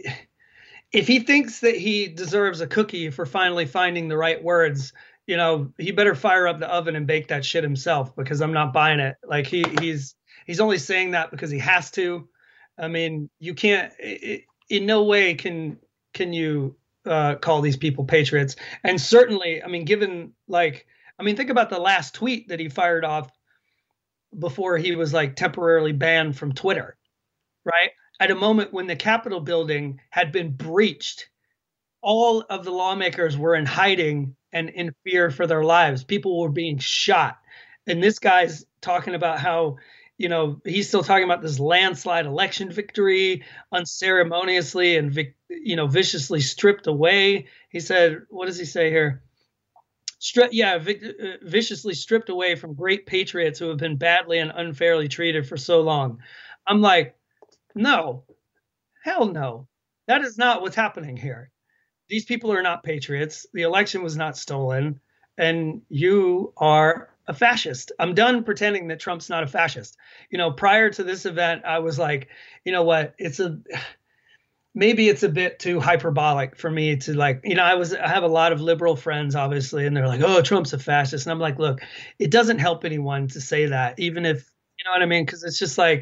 if he thinks that he deserves a cookie for finally finding the right words, you know, he better fire up the oven and bake that shit himself, because I'm not buying it. Like he he's he's only saying that because he has to. I mean, you can't, it, in no way can can you Uh, call these people patriots. And certainly, I mean, given like, I mean, think about the last tweet that he fired off before he was like temporarily banned from Twitter, right? At a moment when the Capitol building had been breached, all of the lawmakers were in hiding and in fear for their lives. People were being shot. And this guy's talking about how, you know, he's still talking about this landslide election victory, unceremoniously and, you know, viciously stripped away. He said, what does he say here? Stri- yeah, vic- uh, viciously stripped away from great patriots who have been badly and unfairly treated for so long. I'm like, no, hell no. That is not what's happening here. These people are not patriots. The election was not stolen. And you are a fascist. I'm done pretending that Trump's not a fascist. You know, prior to this event, I was like, you know what, it's a, maybe it's a bit too hyperbolic for me to like, you know, I was, I have a lot of liberal friends, obviously, and they're like, oh, Trump's a fascist. And I'm like, look, it doesn't help anyone to say that, even if, you know what I mean? Because it's just like,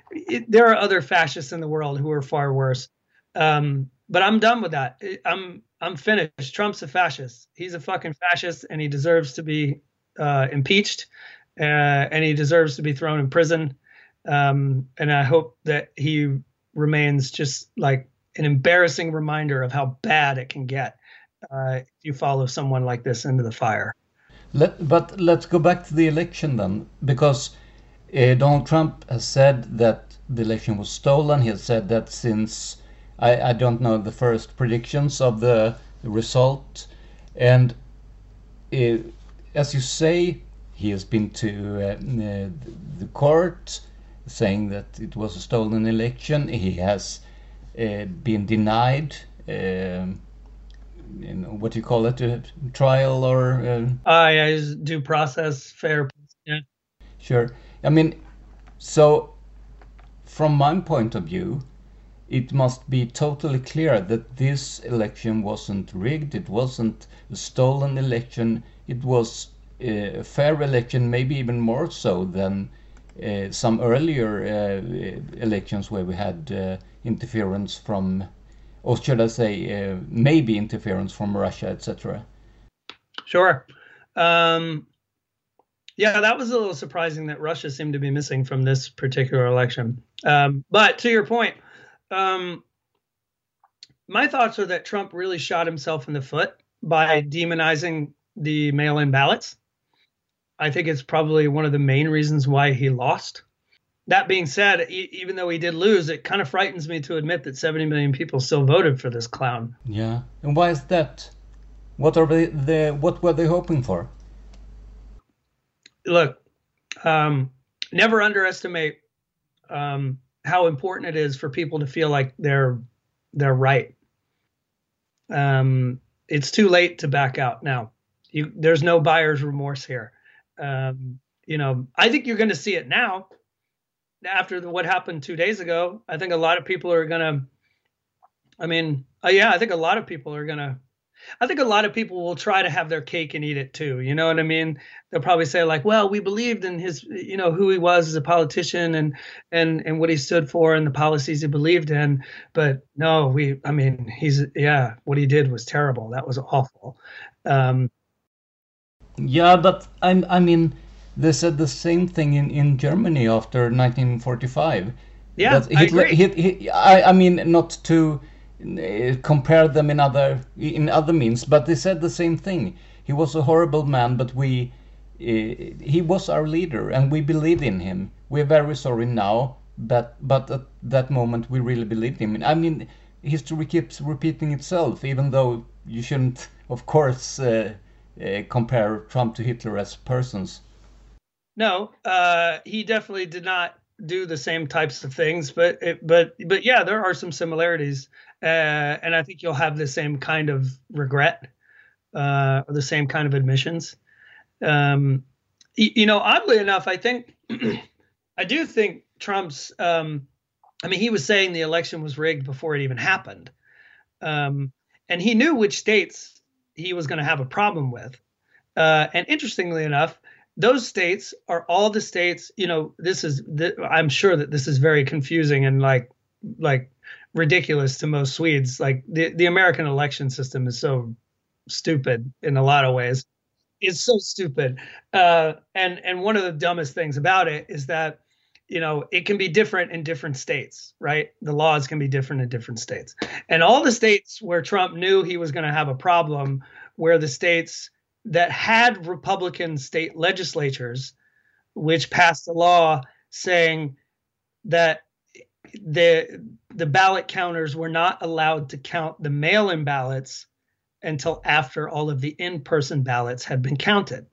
it, there are other fascists in the world who are far worse. Um, but I'm done with that. I'm I'm finished. Trump's a fascist. He's a fucking fascist, and he deserves to be uh, impeached, uh, and he deserves to be thrown in prison. Um, and I hope that he remains just like an embarrassing reminder of how bad it can get uh, if you follow someone like this into the fire. Let, but let's go back to the election then, because uh, Donald Trump has said that the election was stolen. He has said that since, I, I don't know, the first predictions of the, the result. And uh, as you say, he has been to uh, uh, the court saying that it was a stolen election. He has uh, been denied, um, you know, what do you call it, a trial or... Uh, uh, yeah, due process, fair. Yeah. Sure. I mean, so from my point of view, it must be totally clear that this election wasn't rigged. It wasn't a stolen election. It was a fair election, maybe even more so than uh, some earlier uh, elections where we had uh, interference from, or should I say, uh, maybe interference from Russia, et cetera. Sure. Um, yeah, that was a little surprising that Russia seemed to be missing from this particular election. Um, but to your point, um, my thoughts are that Trump really shot himself in the foot by demonizing the mail-in ballots. I think it's probably one of the main reasons why he lost. That being said, e- even though he did lose, it kind of frightens me to admit that seventy million people still voted for this clown. Yeah, and why is that? What are they? The what were they hoping for? Look, um, never underestimate um, how important it is for people to feel like they're they're right. Um, it's too late to back out now. You, there's no buyer's remorse here. Um, you know, I think you're going to see it now. After the, what happened two days ago, I think a lot of people are going to, I mean, uh, yeah, I think a lot of people are going to, I think a lot of people will try to have their cake and eat it too. You know what I mean? They'll probably say like, well, we believed in his, you know, who he was as a politician and, and, and what he stood for and the policies he believed in. But no, we, I mean, he's, yeah, what he did was terrible. That was awful. Um, yeah, but I, I mean, they said the same thing in, in Germany after nineteen forty-five. Yeah, that Hitler, I agree. Hit, hit, I, I mean, not to uh, compare them in other in other means, but they said the same thing. He was a horrible man, but we uh, he was our leader, and we believed in him. We're very sorry now, but but at that moment we really believed in him. I mean, history keeps repeating itself, even though you shouldn't, of course, uh, uh, compare Trump to Hitler as persons. No, uh, he definitely did not do the same types of things, but it, but but yeah, there are some similarities, uh, and I think you'll have the same kind of regret, uh, or the same kind of admissions. Um, you, you know, oddly enough, I think I do think Trump's. Um, I mean, he was saying the election was rigged before it even happened, um, and he knew which states he was going to have a problem with. Uh, and interestingly enough, those states are all the states, you know, this is, th- I'm sure that this is very confusing and like, like ridiculous to most Swedes. Like the, the American election system is so stupid in a lot of ways. It's so stupid. Uh, and, and one of the dumbest things about it is that, you know, it can be different in different states, right? The laws can be different in different states. And all the states where Trump knew he was going to have a problem, where the states that had Republican state legislatures, which passed a law saying that the the ballot counters were not allowed to count the mail-in ballots until after all of the in-person ballots had been counted.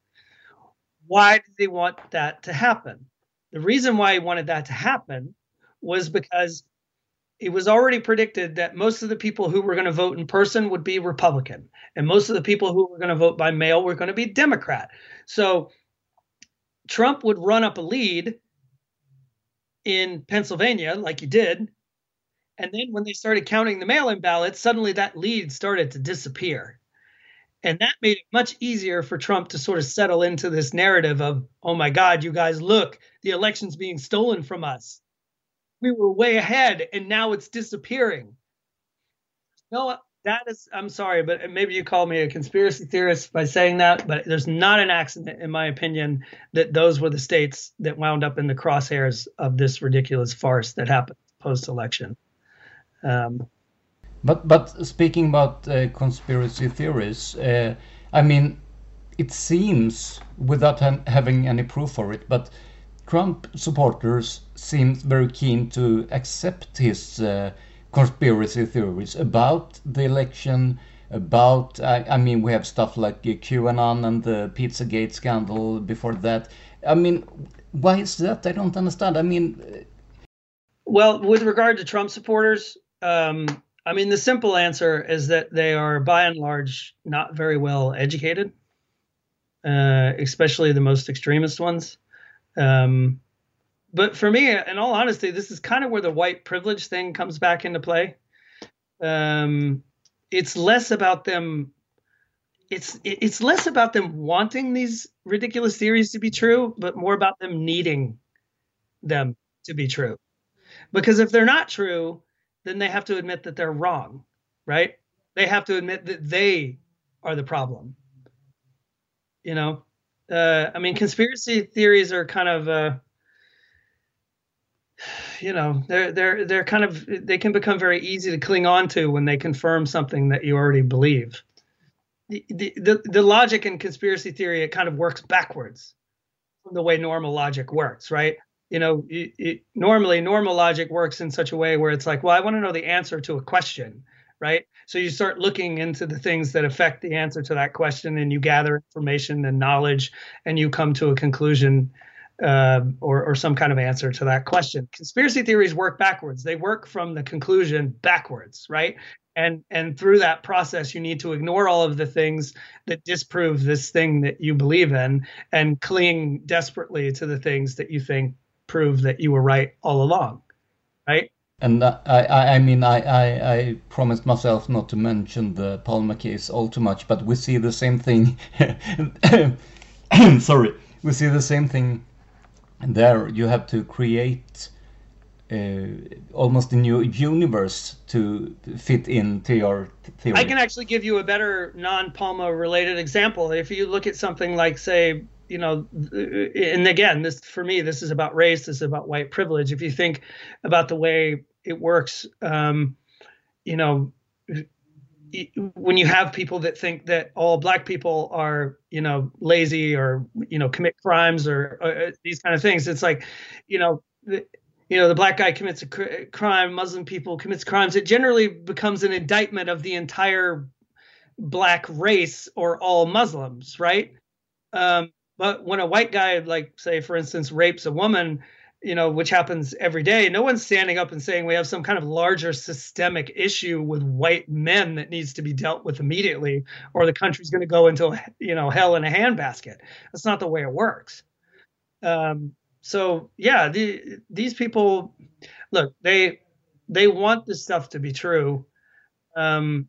Why did they want that to happen? The reason why he wanted that to happen was because it was already predicted that most of the people who were going to vote in person would be Republican, and most of the people who were going to vote by mail were going to be Democrat. So Trump would run up a lead in Pennsylvania, like he did, and then when they started counting the mail-in ballots, suddenly that lead started to disappear. And that made it much easier for Trump to sort of settle into this narrative of, oh my God, you guys, look, the election's being stolen from us. we were way ahead and now it's disappearing. No, that is, I'm sorry, but maybe you call me a conspiracy theorist by saying that, but there's not an accident, in my opinion, that those were the states that wound up in the crosshairs of this ridiculous farce that happened post-election. Um, but but speaking about uh, conspiracy theories, uh, I mean, it seems, without ha having any proof for it, but Trump supporters seem very keen to accept his uh, conspiracy theories about the election, about, I, I mean, we have stuff like uh, QAnon and the Pizzagate scandal before that. I mean, why is that? I don't understand. I mean... Well, with regard to Trump supporters, um, I mean, the simple answer is that they are, by and large, not very well educated, uh, especially the most extremist ones. Um, but for me, in all honesty, this is kind of where the white privilege thing comes back into play. Um, it's less about them. It's it's less about them wanting these ridiculous theories to be true, but more about them needing them to be true. Because if they're not true, then they have to admit that they're wrong, right? They have to admit that they are the problem. You know, uh, I mean, conspiracy theories are kind of, uh, you know, they're they're they're kind of they can become very easy to cling on to when they confirm something that you already believe. The the the, the logic in conspiracy theory, it kind of works backwards from the way normal logic works, right? You know, it, it, normally normal logic works in such a way where it's like, well, I want to know the answer to a question, right? So you start looking into the things that affect the answer to that question, and you gather information and knowledge, and you come to a conclusion uh, or, or some kind of answer to that question. Conspiracy theories work backwards. They work from the conclusion backwards, right? And and through that process, you need to ignore all of the things that disprove this thing that you believe in and cling desperately to the things that you think prove that you were right all along, right? And I, I, I mean, I, I, I promised myself not to mention the Palmer case all too much, but we see the same thing. Sorry, we see the same thing there. You have to create uh, almost a new universe to fit into your theory. I can actually give you a better non-Palmer related example. If you look at something like, say, you know, and again, this for me, this is about race. This is about white privilege. If you think about the way it works, um, you know, when you have people that think that all black people are, you know, lazy or, you know, commit crimes or, or these kind of things, it's like, you know, the, you know, the black guy commits a cr- crime, Muslim people commits crimes. It generally becomes an indictment of the entire black race or all Muslims, right? Um, But when a white guy, like, say, for instance, rapes a woman, you know, which happens every day, no one's standing up and saying we have some kind of larger systemic issue with white men that needs to be dealt with immediately, or the country's going to go into, you know, hell in a handbasket. That's not the way it works. Um, so, yeah, the, these people, look, they they want this stuff to be true. Um,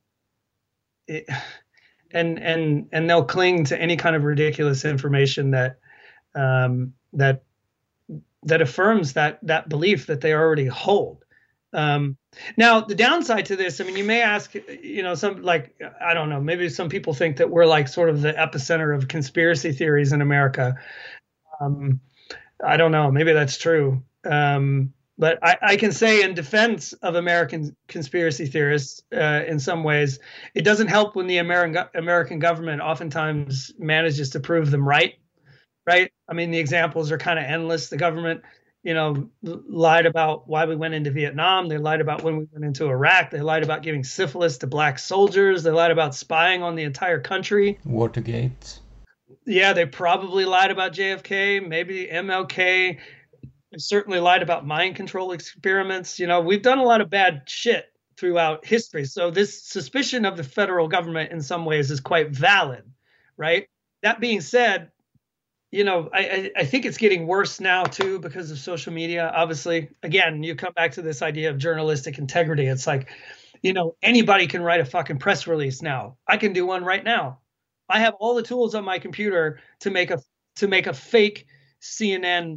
it, And and and they'll cling to any kind of ridiculous information that um, that that affirms that that belief that they already hold. Um, now, the downside to this, I mean, you may ask, you know, some like I don't know, maybe some people think that we're like sort of the epicenter of conspiracy theories in America. Um, I don't know, maybe that's true. Um, But I, I can say in defense of American conspiracy theorists, uh, in some ways, it doesn't help when the American American government oftentimes manages to prove them right, right? I mean, the examples are kind of endless. The government, you know, lied about why we went into Vietnam. They lied about when we went into Iraq. They lied about giving syphilis to black soldiers. They lied about spying on the entire country. Watergate. Yeah, they probably lied about J F K, maybe M L K. Certainly lied about mind control experiments. You know, we've done a lot of bad shit throughout history. So this suspicion of the federal government in some ways is quite valid, right? That being said, you know, I, I think it's getting worse now too because of social media. Obviously, again, you come back to this idea of journalistic integrity. It's like, you know, anybody can write a fucking press release now. I can do one right now. I have all the tools on my computer to make a to make a fake C N N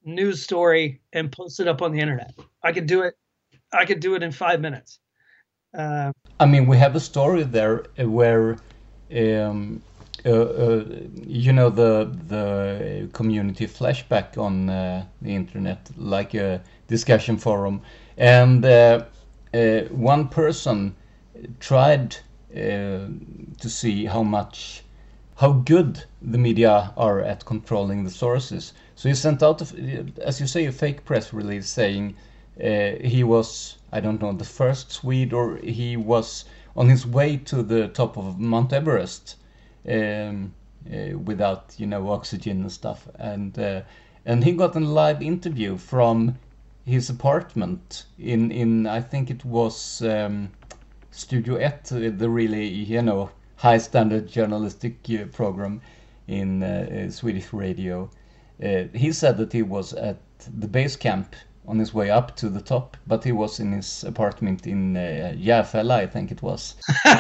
news story and post it up on the internet. I could do it. I could do it in five minutes. Uh, I mean, we have a story there where, um, uh, uh, you know, the the community flashback on uh, the internet, like a discussion forum, and uh, uh, one person tried uh, to see how much, how good the media are at controlling the sources. So he sent out, a, as you say, a fake press release saying uh, he was, I don't know, the first Swede, or he was on his way to the top of Mount Everest um, uh, without, you know, oxygen and stuff. And uh, and he got a live interview from his apartment in, in I think it was um, Studio ett, the really, you know, high standard journalistic uh, program in uh, uh, Swedish radio. Uh, he said that he was at the base camp on his way up to the top, but he was in his apartment in uh, Järfälla, I think it was.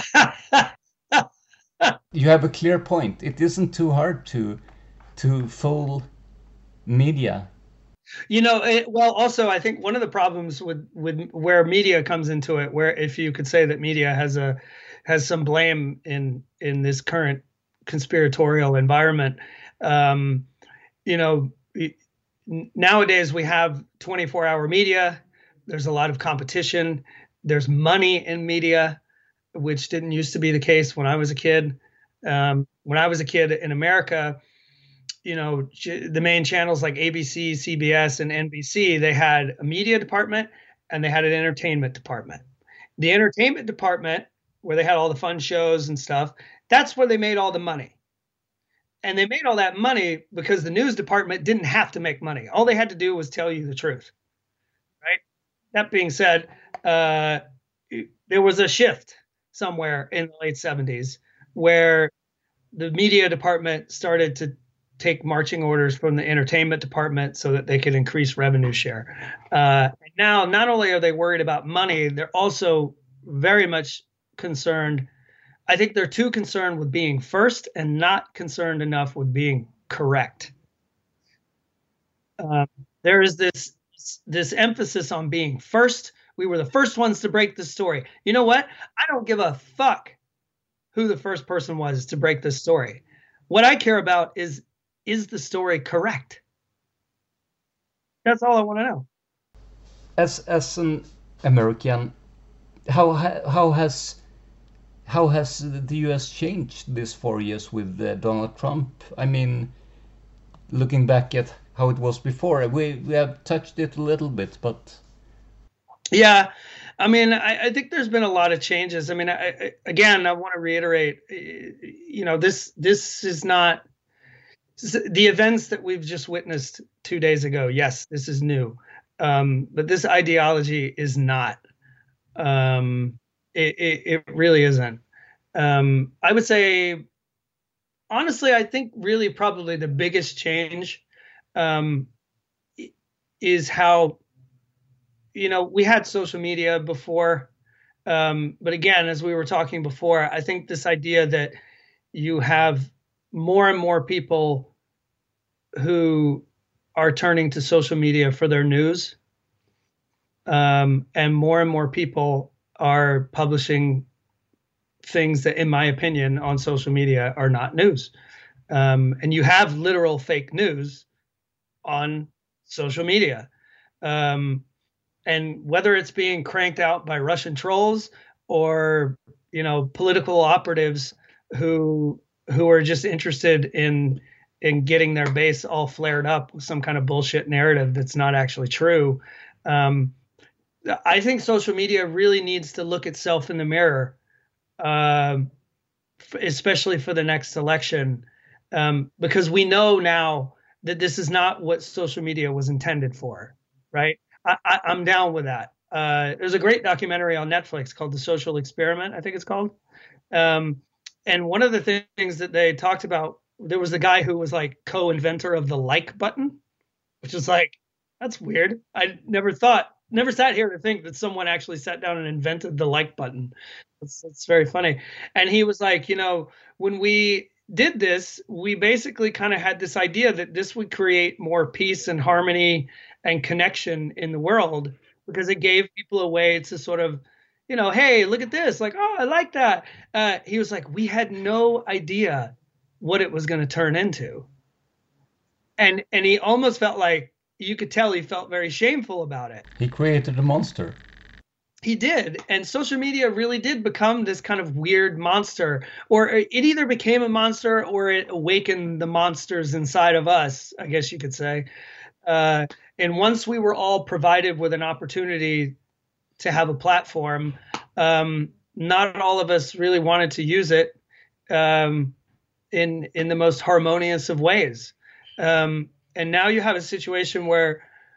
You have a clear point. It isn't too hard to to fool media. You know, it, well, also, I think one of the problems with, with where media comes into it, where if you could say that media has a has some blame in in this current conspiratorial environment, um, you know, nowadays we have twenty-four hour media. There's a lot of competition. There's money in media, which didn't used to be the case when I was a kid. Um, when I was a kid in America, you know, the main channels like A B C, C B S, and N B C, they had a media department and they had an entertainment department. The entertainment department, where they had all the fun shows and stuff, that's where they made all the money. And they made all that money because the news department didn't have to make money. All they had to do was tell you the truth, right? That being said, uh, there was a shift somewhere in the late seventies where the media department started to take marching orders from the entertainment department so that they could increase revenue share. Uh, and now, not only are they worried about money, they're also very much concerned. I think they're too concerned with being first and not concerned enough with being correct. Uh, there is this this emphasis on being first. We were the first ones to break the story. You know what? I don't give a fuck who the first person was to break this story. What I care about is, is the story correct? That's all I want to know. As as an American, how how has how has the U S changed this four years with uh, Donald Trump? I mean, looking back at how it was before, we we have touched it a little bit, but yeah, I mean, I, I think there's been a lot of changes. I mean, I, I, again, I want to reiterate, you know, this this is not the events that we've just witnessed two days ago. Yes, this is new, um, but this ideology is not. Um, it, it, it really isn't. Um, I would say, honestly, I think really probably the biggest change um, is how, you know, we had social media before. Um, but again, as we were talking before, I think this idea that you have more and more people who are turning to social media for their news, um, and more and more people are publishing things that, in my opinion, on social media are not news. Um, and you have literal fake news on social media. Um, and whether it's being cranked out by Russian trolls or, you know, political operatives who who are just interested in in getting their base all flared up with some kind of bullshit narrative that's not actually true. Um, I think social media really needs to look itself in the mirror, uh, especially for the next election, um, because we know now that this is not what social media was intended for, right? I, I, I'm down with that. Uh, there's a great documentary on Netflix called The Social Experiment, I think it's called. Um, and one of the th- things that they talked about, there was the guy who was like co-inventor of the like button, which is like, that's weird. I never thought, never sat here to think that someone actually sat down and invented the like button. It's, it's very funny. And he was like, you know, when we, did this, we basically kind of had this idea that this would create more peace and harmony and connection in the world, because it gave people a way to sort of, you know, hey, look at this, like, oh, I like that. Uh, he was like, we had no idea what it was going to turn into. And and he almost felt like, you could tell he felt very shameful about it. He created a monster. He did. And social media really did become this kind of weird monster, or it either became a monster or it awakened the monsters inside of us, I guess you could say. Uh, and once we were all provided with an opportunity to have a platform, um, not all of us really wanted to use it um, in in the most harmonious of ways. Um, and now you have a situation where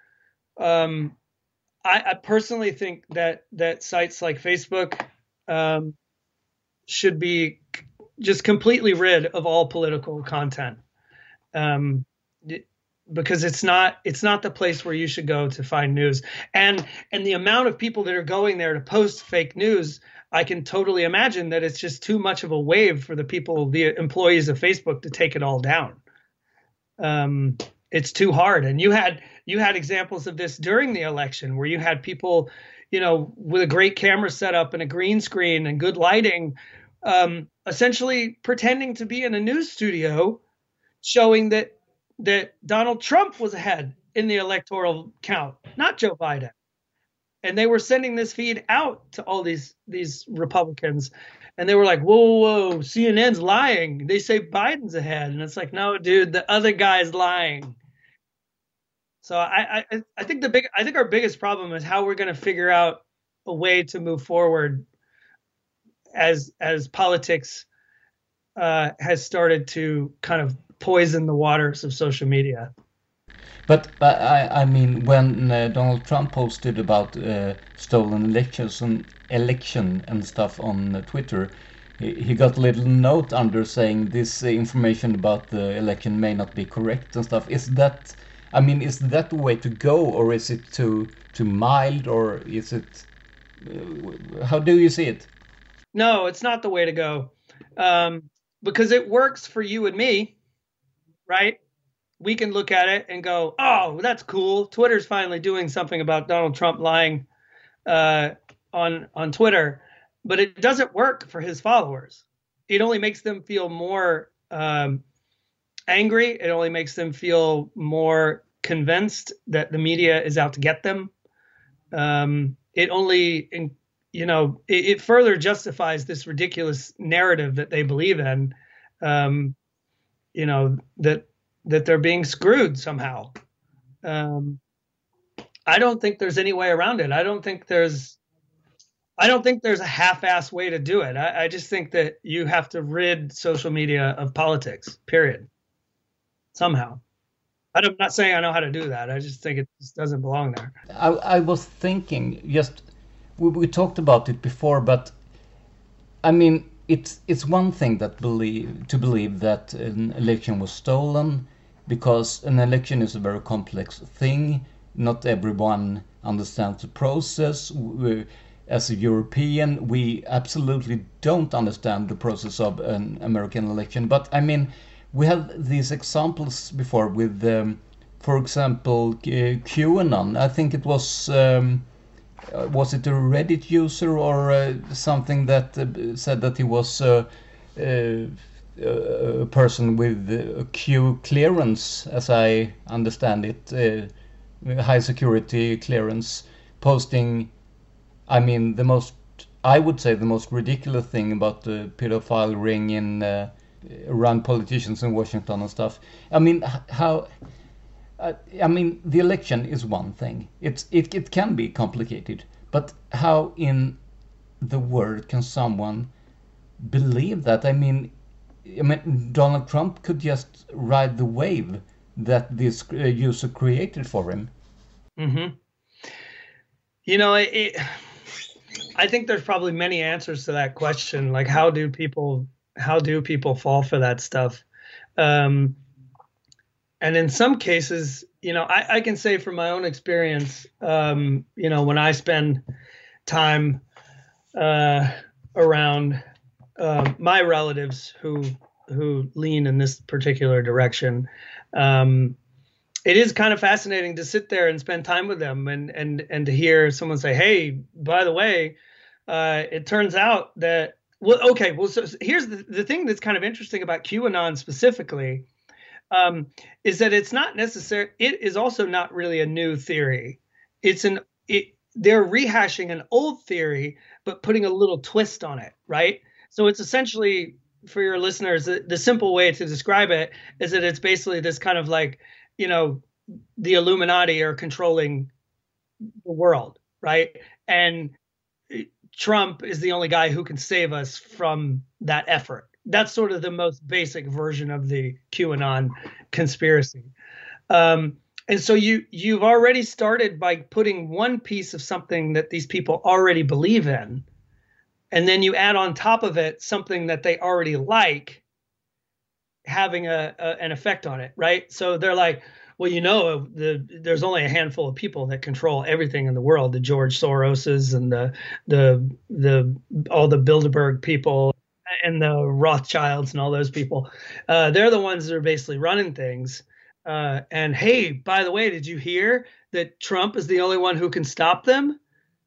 um, I, I personally think that that sites like Facebook um, should be just completely rid of all political content, um, because it's not it's not the place where you should go to find news. And and the amount of people that are going there to post fake news, I can totally imagine that it's just too much of a wave for the people, the employees of Facebook, to take it all down. Um, it's too hard. And you had you had examples of this during the election, where you had people, you know, with a great camera setup and a green screen and good lighting, um, essentially pretending to be in a news studio, showing that that Donald Trump was ahead in the electoral count, not Joe Biden. And they were sending this feed out to all these these Republicans. And they were like, whoa, whoa, whoa, C N N's lying. They say Biden's ahead. And it's like, no, dude, the other guy's lying. So I, I, I think the big, I think our biggest problem is how we're going to figure out a way to move forward as as politics uh, has started to kind of poison the waters of social media. But I, I mean, when uh, Donald Trump posted about uh, stolen elections and election and stuff on uh, Twitter, he, he got a little note under saying this uh, information about the election may not be correct and stuff. Is that, I mean, is that the way to go, or is it too too mild, or is it? Uh, how do you see it? No, it's not the way to go, um, because it works for you and me, right? We can look at it and go, oh, that's cool. Twitter's finally doing something about Donald Trump lying uh, on on Twitter. But it doesn't work for his followers. It only makes them feel more um, angry. It only makes them feel more convinced that the media is out to get them. Um, it only, you know, it, it further justifies this ridiculous narrative that they believe in, um, you know, that that they're being screwed somehow. Um, I don't think there's any way around it. I don't think there's, I don't think there's a half-ass way to do it. I, I just think that you have to rid social media of politics, period. Somehow. I'm not saying I know how to do that. I just think it just doesn't belong there. I, I was thinking, just, we, we talked about it before, but I mean, it's it's one thing that believe to believe that an election was stolen, because an election is a very complex thing. Not everyone understands the process. We, as a European, we absolutely don't understand the process of an American election. But I mean, we have these examples before with, um, for example, uh, QAnon. I think it was, um, was it a Reddit user or uh, something that uh, said that he was uh, uh, a person with a Q clearance, as I understand it, uh, high security clearance, posting, I mean, the most, I would say the most ridiculous thing about the pedophile ring in uh, around politicians in Washington and stuff. I mean, how, uh, I mean, the election is one thing. It's, it, it can be complicated, but how in the world can someone believe that? I mean, I mean, Donald Trump could just ride the wave that this uh, user created for him. Mm-hmm. You know, it, it, I think there's probably many answers to that question. Like, how do people, how do people fall for that stuff? Um, and in some cases, you know, I, I can say from my own experience, um, you know, when I spend time uh, around uh, my relatives who who lean in this particular direction. Um, it is kind of fascinating to sit there and spend time with them and and and to hear someone say, "Hey, by the way, uh, it turns out that." Well, okay. Well, so, so here's the the thing that's kind of interesting about QAnon specifically, um, is that it's not necessary. It is also not really a new theory. It's an it. They're rehashing an old theory, but putting a little twist on it, right? So it's essentially, for your listeners, the, the simple way to describe it is that it's basically this kind of like, you know, the Illuminati are controlling the world, right? And Trump is the only guy who can save us from that effort. That's sort of the most basic version of the QAnon conspiracy. Um, and so you, you've already started by putting one piece of something that these people already believe in, and then you add on top of it something that they already like, having a, a an effect on it, right? So they're like, well, you know, the, there's only a handful of people that control everything in the world: the George Soroses and the the the all the Bilderberg people and the Rothschilds and all those people. Uh, they're the ones that are basically running things. Uh, and hey, by the way, did you hear that Trump is the only one who can stop them?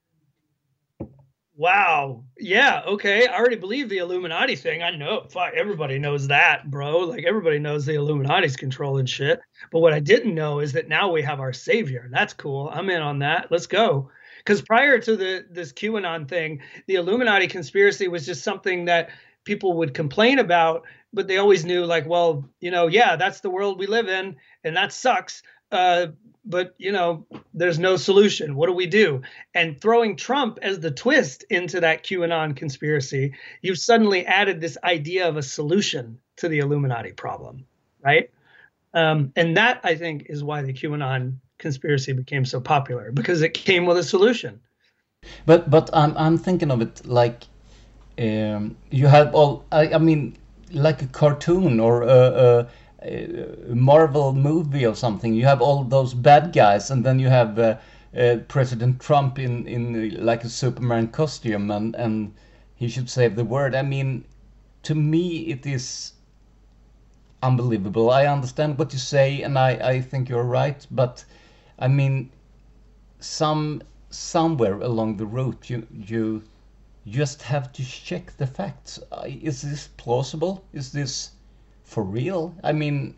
Wow. Yeah. Okay. I already believe the Illuminati thing. I know. Fuck, everybody knows that, bro. Like, everybody knows the Illuminati's controlling shit. But what I didn't know is that now we have our savior. That's cool. I'm in on that. Let's go. Because prior to the this QAnon thing, the Illuminati conspiracy was just something that people would complain about, but they always knew, like, well, you know, yeah, that's the world we live in, and that sucks. Uh, but, you know, there's no solution. What do we do? And throwing Trump as the twist into that QAnon conspiracy, you've suddenly added this idea of a solution to the Illuminati problem, right? Um, and that, I think, is why the QAnon conspiracy became so popular, because it came with a solution. But but I'm I'm thinking of it like um, you have all. I, I mean, like a cartoon or a, a, a Marvel movie or something. You have all those bad guys, and then you have uh, uh, President Trump in in uh, like a Superman costume, and and he should save the world. I mean, to me, it is unbelievable. I understand what you say, and I I think you're right, but I mean, some somewhere along the route, you you just have to check the facts. Uh, is this plausible? Is this for real? I mean,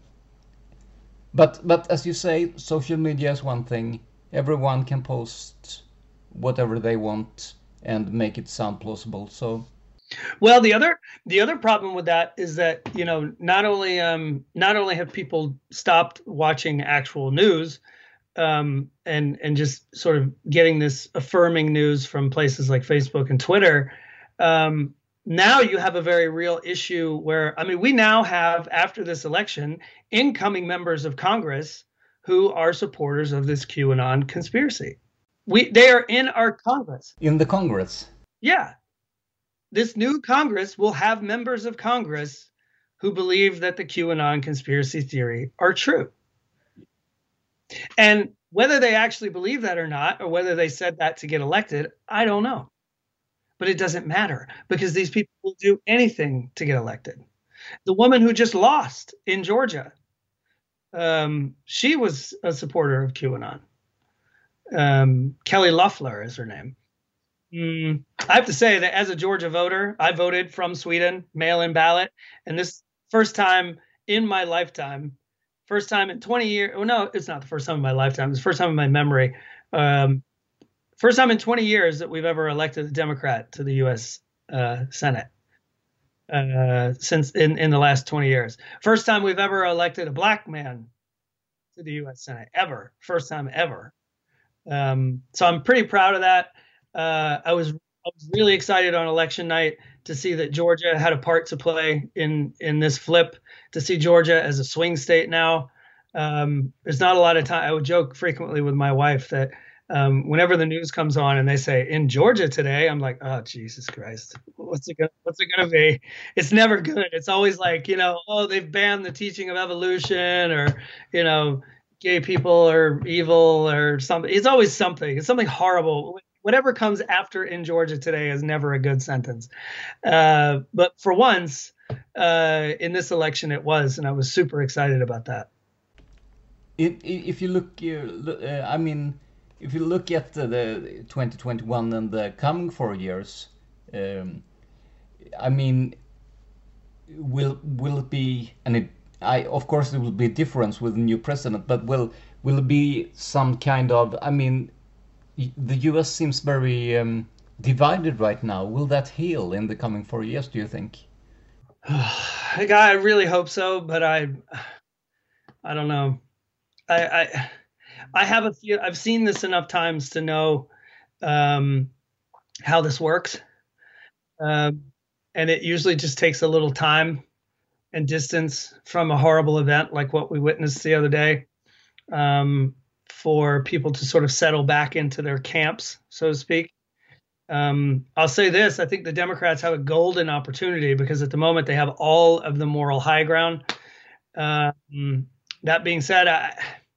but but as you say, social media is one thing. Everyone can post whatever they want and make it sound plausible. So, well, the other the other problem with that is that, you know, not only um not only have people stopped watching actual news, um, and and just sort of getting this affirming news from places like Facebook and Twitter. Um, now you have a very real issue where, I mean, we now have, after this election, incoming members of Congress who are supporters of this QAnon conspiracy. We they are in our Congress. In the Congress. Yeah. This new Congress will have members of Congress who believe that the QAnon conspiracy theory are true. And whether they actually believe that or not, or whether they said that to get elected, I don't know. But it doesn't matter, because these people will do anything to get elected. The woman who just lost in Georgia, um, she was a supporter of QAnon. Um, Kelly Loeffler is her name. Mm, I have to say that as a Georgia voter, I voted from Sweden, mail-in ballot. And this first time in my lifetime, first time in twenty years. Oh, no, it's not the first time in my lifetime. It's the first time in my memory. Um, first time in twenty years that we've ever elected a Democrat to the U S uh, Senate. Uh, since in, in the last twenty years. First time we've ever elected a black man to the U S Senate, ever. First time ever. Um, so I'm pretty proud of that. Uh, I was I was really excited on election night to see that Georgia had a part to play in in this flip, to see Georgia as a swing state now. Um, there's not a lot of time. I would joke frequently with my wife that um, whenever the news comes on and they say in Georgia today, I'm like, oh, Jesus Christ, what's it gonna, what's it going to be? It's never good. It's always like, you know, oh, they've banned the teaching of evolution, or, you know, gay people are evil or something. It's always something. It's something horrible. Whatever comes after in Georgia today is never a good sentence. Uh, but for once, uh, in this election it was, and I was super excited about that. If, if you look, uh, I mean, if you look at the, the twenty twenty-one and the coming four years, um, I mean, will will it be, and it, I of course there will be a difference with the new president, but will will it be some kind of, I mean, the U S seems very um, divided right now. Will that heal in the coming four years, do you think? I really hope so, but I, I don't know. I, I, I have a few, I've seen this enough times to know um, how this works. Um, and it usually just takes a little time and distance from a horrible event like what we witnessed the other day um, for people to sort of settle back into their camps, so to speak. Um, I'll say this, I think the Democrats have a golden opportunity because at the moment they have all of the moral high ground. Um, that being said, I,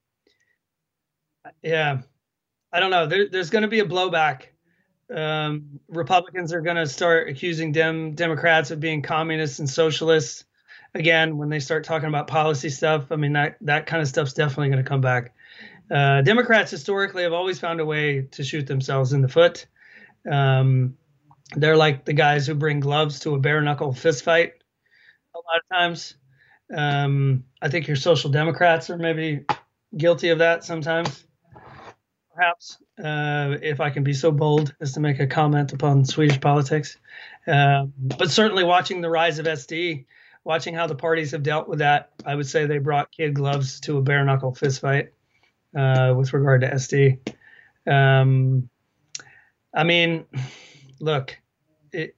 yeah, I don't know. There, there's going to be a blowback. Um, Republicans are going to start accusing Dem Democrats of being communists and socialists again when they start talking about policy stuff. I mean, that, that kind of stuff's definitely going to come back. Uh, Democrats historically have always found a way to shoot themselves in the foot. Um, they're like the guys who bring gloves to a bare knuckle fist fight a lot of times. Um, I think your social democrats are maybe guilty of that sometimes, perhaps, uh, if I can be so bold as to make a comment upon Swedish politics. Uh, but certainly watching the rise of S D, watching how the parties have dealt with that, I would say they brought kid gloves to a bare knuckle fist fight uh, with regard to S D. Um, I mean, look, it,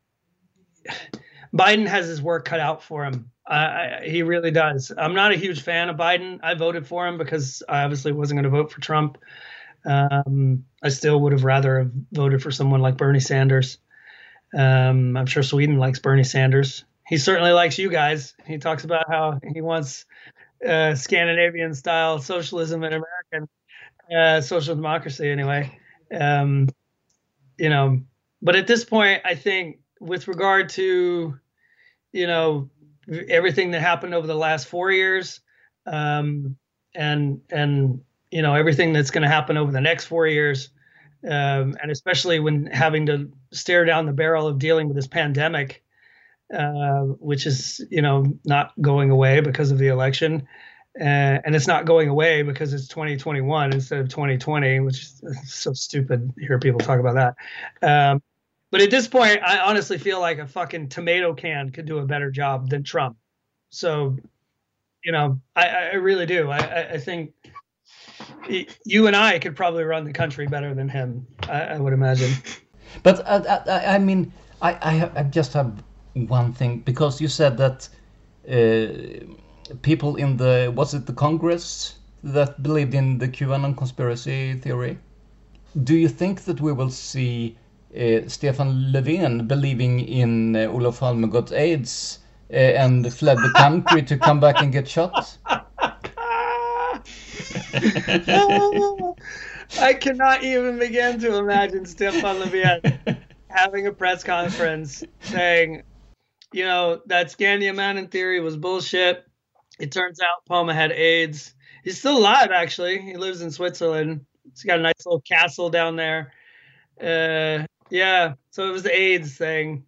Biden has his work cut out for him. I, I, he really does. I'm not a huge fan of Biden. I voted for him because I obviously wasn't going to vote for Trump. Um, I still would have rather have voted for someone like Bernie Sanders. Um, I'm sure Sweden likes Bernie Sanders. He certainly likes you guys. He talks about how he wants uh, Scandinavian-style socialism and American uh, social democracy anyway. Um, you know, but at this point, I think with regard to, you know, everything that happened over the last four years um, and, and, you know, everything that's going to happen over the next four years, um, and especially when having to stare down the barrel of dealing with this pandemic, uh, which is, you know, not going away because of the election. Uh, and it's not going away because it's twenty twenty-one instead of twenty twenty, which is so stupid to hear people talk about that. Um, but at this point, I honestly feel like a fucking tomato can could do a better job than Trump. So, you know, I, I really do. I, I think you and I could probably run the country better than him, I, I would imagine. But uh, I, I mean, I, I, I just have one thing, because you said that uh, people in the, was it the Congress that believed in the QAnon conspiracy theory? Do you think that we will see uh, Stefan Löfven believing in uh, Olof Palme got AIDS uh, and fled the country to come back and get shot? I cannot even begin to imagine Stefan Löfven having a press conference saying, you know, that Scandiamannen theory was bullshit. It turns out Palme had AIDS. He's still alive, actually. He lives in Switzerland. He's got a nice little castle down there. Uh, yeah, so it was the AIDS thing.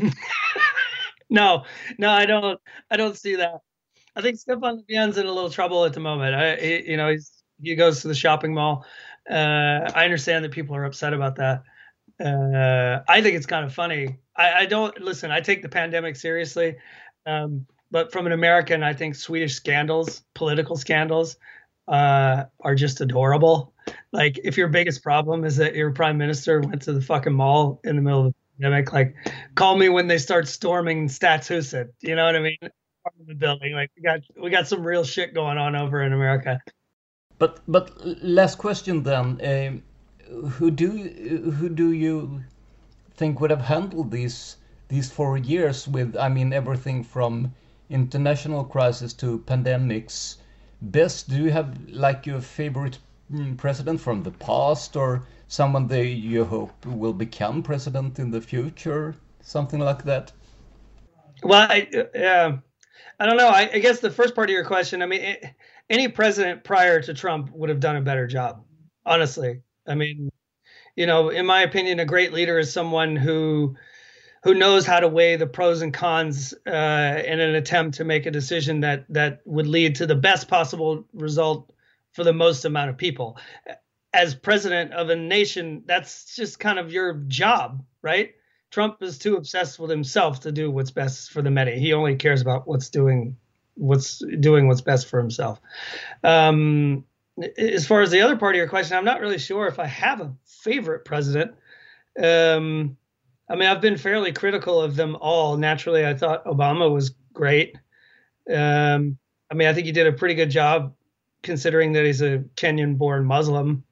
no, no, I don't. I don't see that. I think Stefan Löfven's in a little trouble at the moment. I, he, you know, he's he goes to the shopping mall. Uh, I understand that people are upset about that. Uh, I think it's kind of funny. I, I don't listen. I take the pandemic seriously. Um, But from an American, I think Swedish scandals, political scandals, uh, are just adorable. Like, if your biggest problem is that your prime minister went to the fucking mall in the middle of the pandemic, like, call me when they start storming Stadshuset. You know what I mean? Part of the building. Like, we got we got some real shit going on over in America. But but last question then. Uh, who do who do you think would have handled these these four years with? I mean, everything from international crisis to pandemics best? Do you have like your favorite president from the past, or someone that you hope will become president in the future, something like that? Well, I, uh, I don't know. I, I guess the first part of your question, I mean, it, any president prior to Trump would have done a better job, honestly. I mean, you know, in my opinion, a great leader is someone who who knows how to weigh the pros and cons uh, in an attempt to make a decision that that would lead to the best possible result for the most amount of people. As president of a nation, that's just kind of your job, right? Trump is too obsessed with himself to do what's best for the many. He only cares about what's doing what's doing what's best for himself. Um, as far as the other part of your question, I'm not really sure if I have a favorite president. Um, I mean, I've been fairly critical of them all. Naturally, I thought Obama was great. Um, I mean, I think he did a pretty good job considering that he's a Kenyan-born Muslim.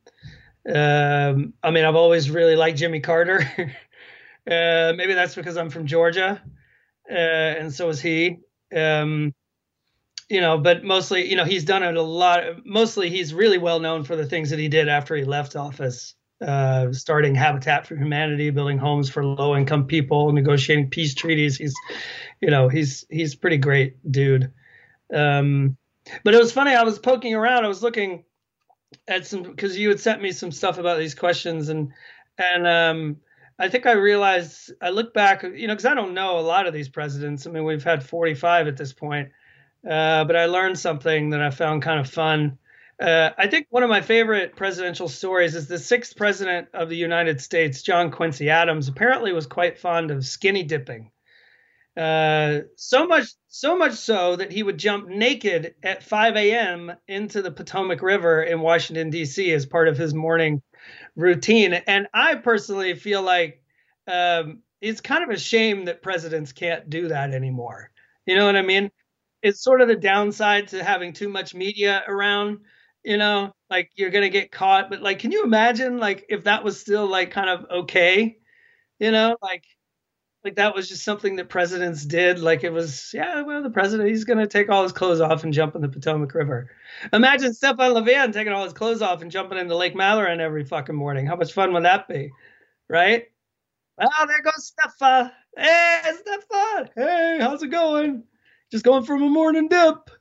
Um, I mean, I've always really liked Jimmy Carter. uh, maybe that's because I'm from Georgia, uh, and so is he. Um, you know, but mostly, you know, he's done it a lot. Mostly, he's really well known for the things that he did after he left office. Uh, starting Habitat for Humanity, building homes for low-income people, negotiating peace treaties. He's, you know, he's he's pretty great dude. Um, but it was funny. I was poking around. I was looking at some because you had sent me some stuff about these questions, and and um, I think I realized I look back, you know, because I don't know a lot of these presidents. I mean, we've had forty-five at this point, uh, but I learned something that I found kind of fun. Uh, I think one of my favorite presidential stories is the sixth president of the United States, John Quincy Adams, apparently was quite fond of skinny dipping. Uh, so much, so much so that he would jump naked at five a.m. into the Potomac River in Washington, D C as part of his morning routine. And I personally feel like um, it's kind of a shame that presidents can't do that anymore. You know what I mean? It's sort of the downside to having too much media around. You know, like you're going to get caught. But like, can you imagine like if that was still like kind of okay, you know, like like that was just something that presidents did. Like it was, yeah, well, the president, he's going to take all his clothes off and jump in the Potomac River. Imagine Stefan Levin taking all his clothes off and jumping into Lake Mallory every fucking morning. How much fun would that be? Right? Oh, there goes Stefan. Hey, Stefan. Hey, how's it going? Just going from a morning dip.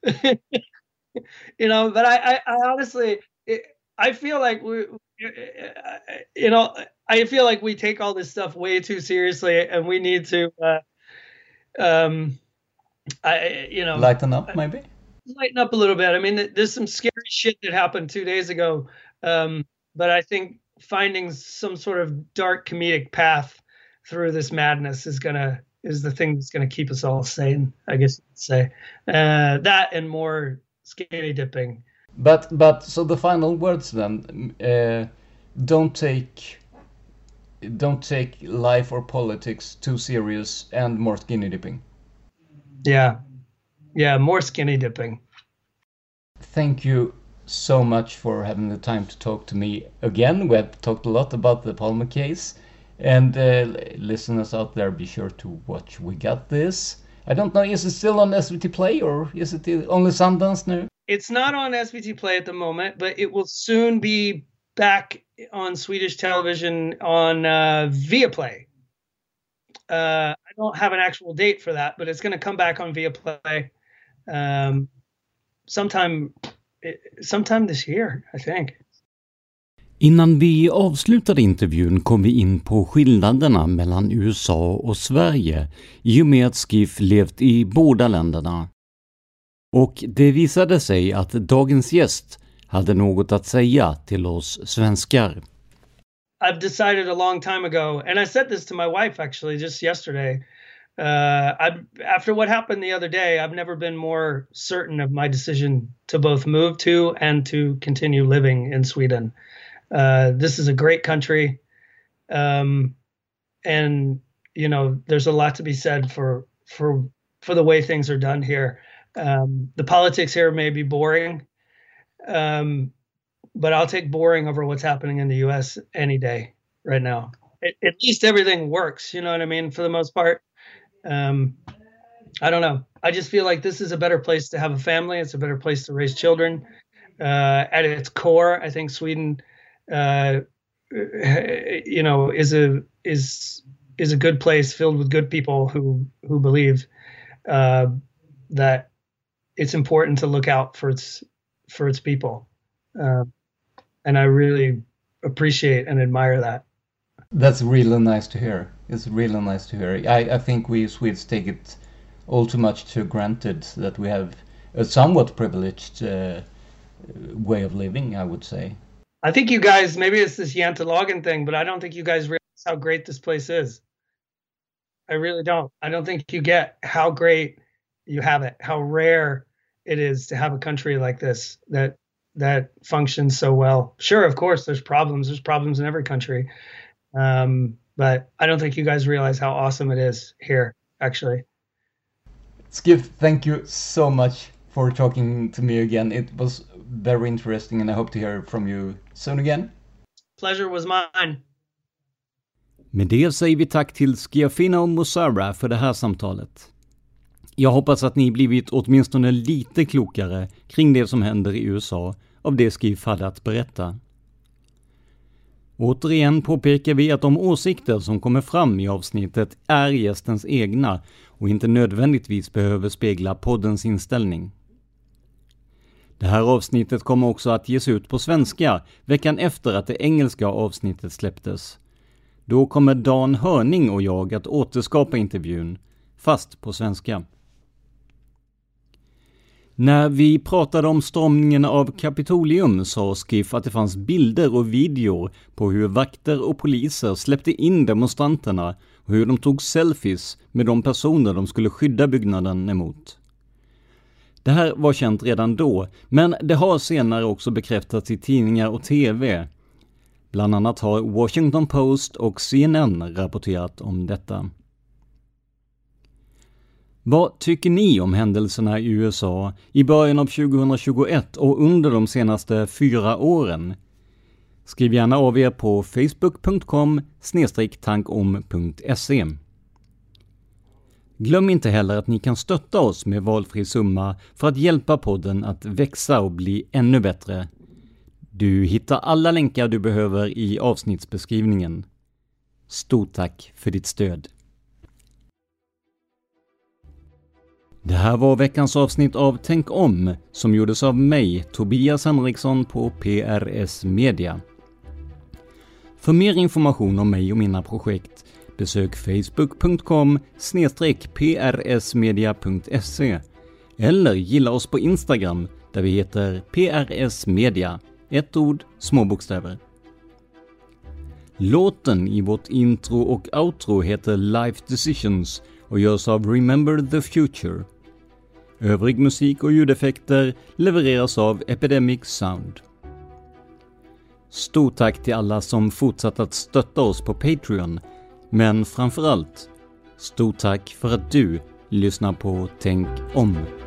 You know, but I, I, I honestly, it, I feel like we, you know, I feel like we take all this stuff way too seriously, and we need to, uh, um, I, you know, lighten up, maybe lighten up a little bit. I mean, there's some scary shit that happened two days ago, um, but I think finding some sort of dark comedic path through this madness is gonna is the thing that's gonna keep us all sane. I guess you could say uh, that and more skinny dipping. But but so the final words then, uh, don't take don't take life or politics too serious, and more skinny dipping. Yeah, yeah, more skinny dipping. Thank you so much for having the time to talk to me again. We have talked a lot about the Palmer case, and uh, listeners out there, be sure to watch We Got This. I don't know, is it still on S V T Play or is it only Sundance now? It's not on S V T Play at the moment, but it will soon be back on Swedish television on uh, Viaplay. Uh, I don't have an actual date for that, but it's going to come back on Viaplay um, sometime, sometime this year, I think. Innan vi avslutade intervjun kom vi in på skillnaderna mellan U S A och Sverige i och med att Skiff levt i båda länderna. Och det visade sig att dagens gäst hade något att säga till oss svenskar. I've decided a long time ago, and I said this to my wife actually just yesterday. Uh, I, after what happened the other day, I've never been more certain of my decision to both move to and to continue living in Sweden. Uh, this is a great country. Um, and, you know, there's a lot to be said for, for, for the way things are done here. Um, the politics here may be boring, um, but I'll take boring over what's happening in the U S any day right now. It, at least everything works, you know what I mean, for the most part. Um, I don't know. I just feel like this is a better place to have a family. It's a better place to raise children. Uh, at its core, I think Sweden... Uh, you know, is a is is a good place filled with good people who who believe uh, that it's important to look out for its for its people, uh, and I really appreciate and admire that. That's really nice to hear. It's really nice to hear. I, I think we Swedes take it all too much to granted that we have a somewhat privileged uh, way of living, I would say. I think you guys, maybe it's this Jantelagen thing, but I don't think you guys realize how great this place is. I really don't. I don't think you get how great you have it, how rare it is to have a country like this that that functions so well. Sure, of course, there's problems. There's problems in every country. Um, but I don't think you guys realize how awesome it is here, actually. Skiff, thank you so much for talking to me again. It was very interesting, and I hope to hear from you soon again. Pleasure was mine. Med det säger vi tack till Schiaffino och Mussara för det här samtalet. Jag hoppas att ni blivit åtminstone lite klokare kring det som händer i U S A av det Skiff hade att berätta. Återigen påpekar vi att de åsikter som kommer fram i avsnittet är gästens egna och inte nödvändigtvis behöver spegla poddens inställning. Det här avsnittet kommer också att ges ut på svenska veckan efter att det engelska avsnittet släpptes. Då kommer Dan Hörning och jag att återskapa intervjun, fast på svenska. När vi pratade om stormningen av Kapitolium sa Skiff att det fanns bilder och videor på hur vakter och poliser släppte in demonstranterna och hur de tog selfies med de personer de skulle skydda byggnaden emot. Det här var känt redan då, men det har senare också bekräftats i tidningar och tv. Bland annat har Washington Post och C N N rapporterat om detta. Vad tycker ni om händelserna i U S A i början av tjugohundratjugoett och under de senaste fyra åren? Skriv gärna av er på facebook punkt com snedstreck tankom punkt se. Glöm inte heller att ni kan stötta oss med valfri summa för att hjälpa podden att växa och bli ännu bättre. Du hittar alla länkar du behöver i avsnittsbeskrivningen. Stort tack för ditt stöd. Det här var veckans avsnitt av Tänk om som gjordes av mig, Tobias Henriksson på P R S Media. För mer information om mig och mina projekt besök facebook punkt com snedstreck p r s media punkt se eller gilla oss på Instagram där vi heter P R S Media, ett ord, små bokstäver. Låten i vårt intro och outro heter Life Decisions och görs av Remember the Future. Övrig musik och ljudeffekter levereras av Epidemic Sound. Stort tack till alla som fortsatt att stötta oss på Patreon, men framförallt, stort tack för att du lyssnar på Tänk om.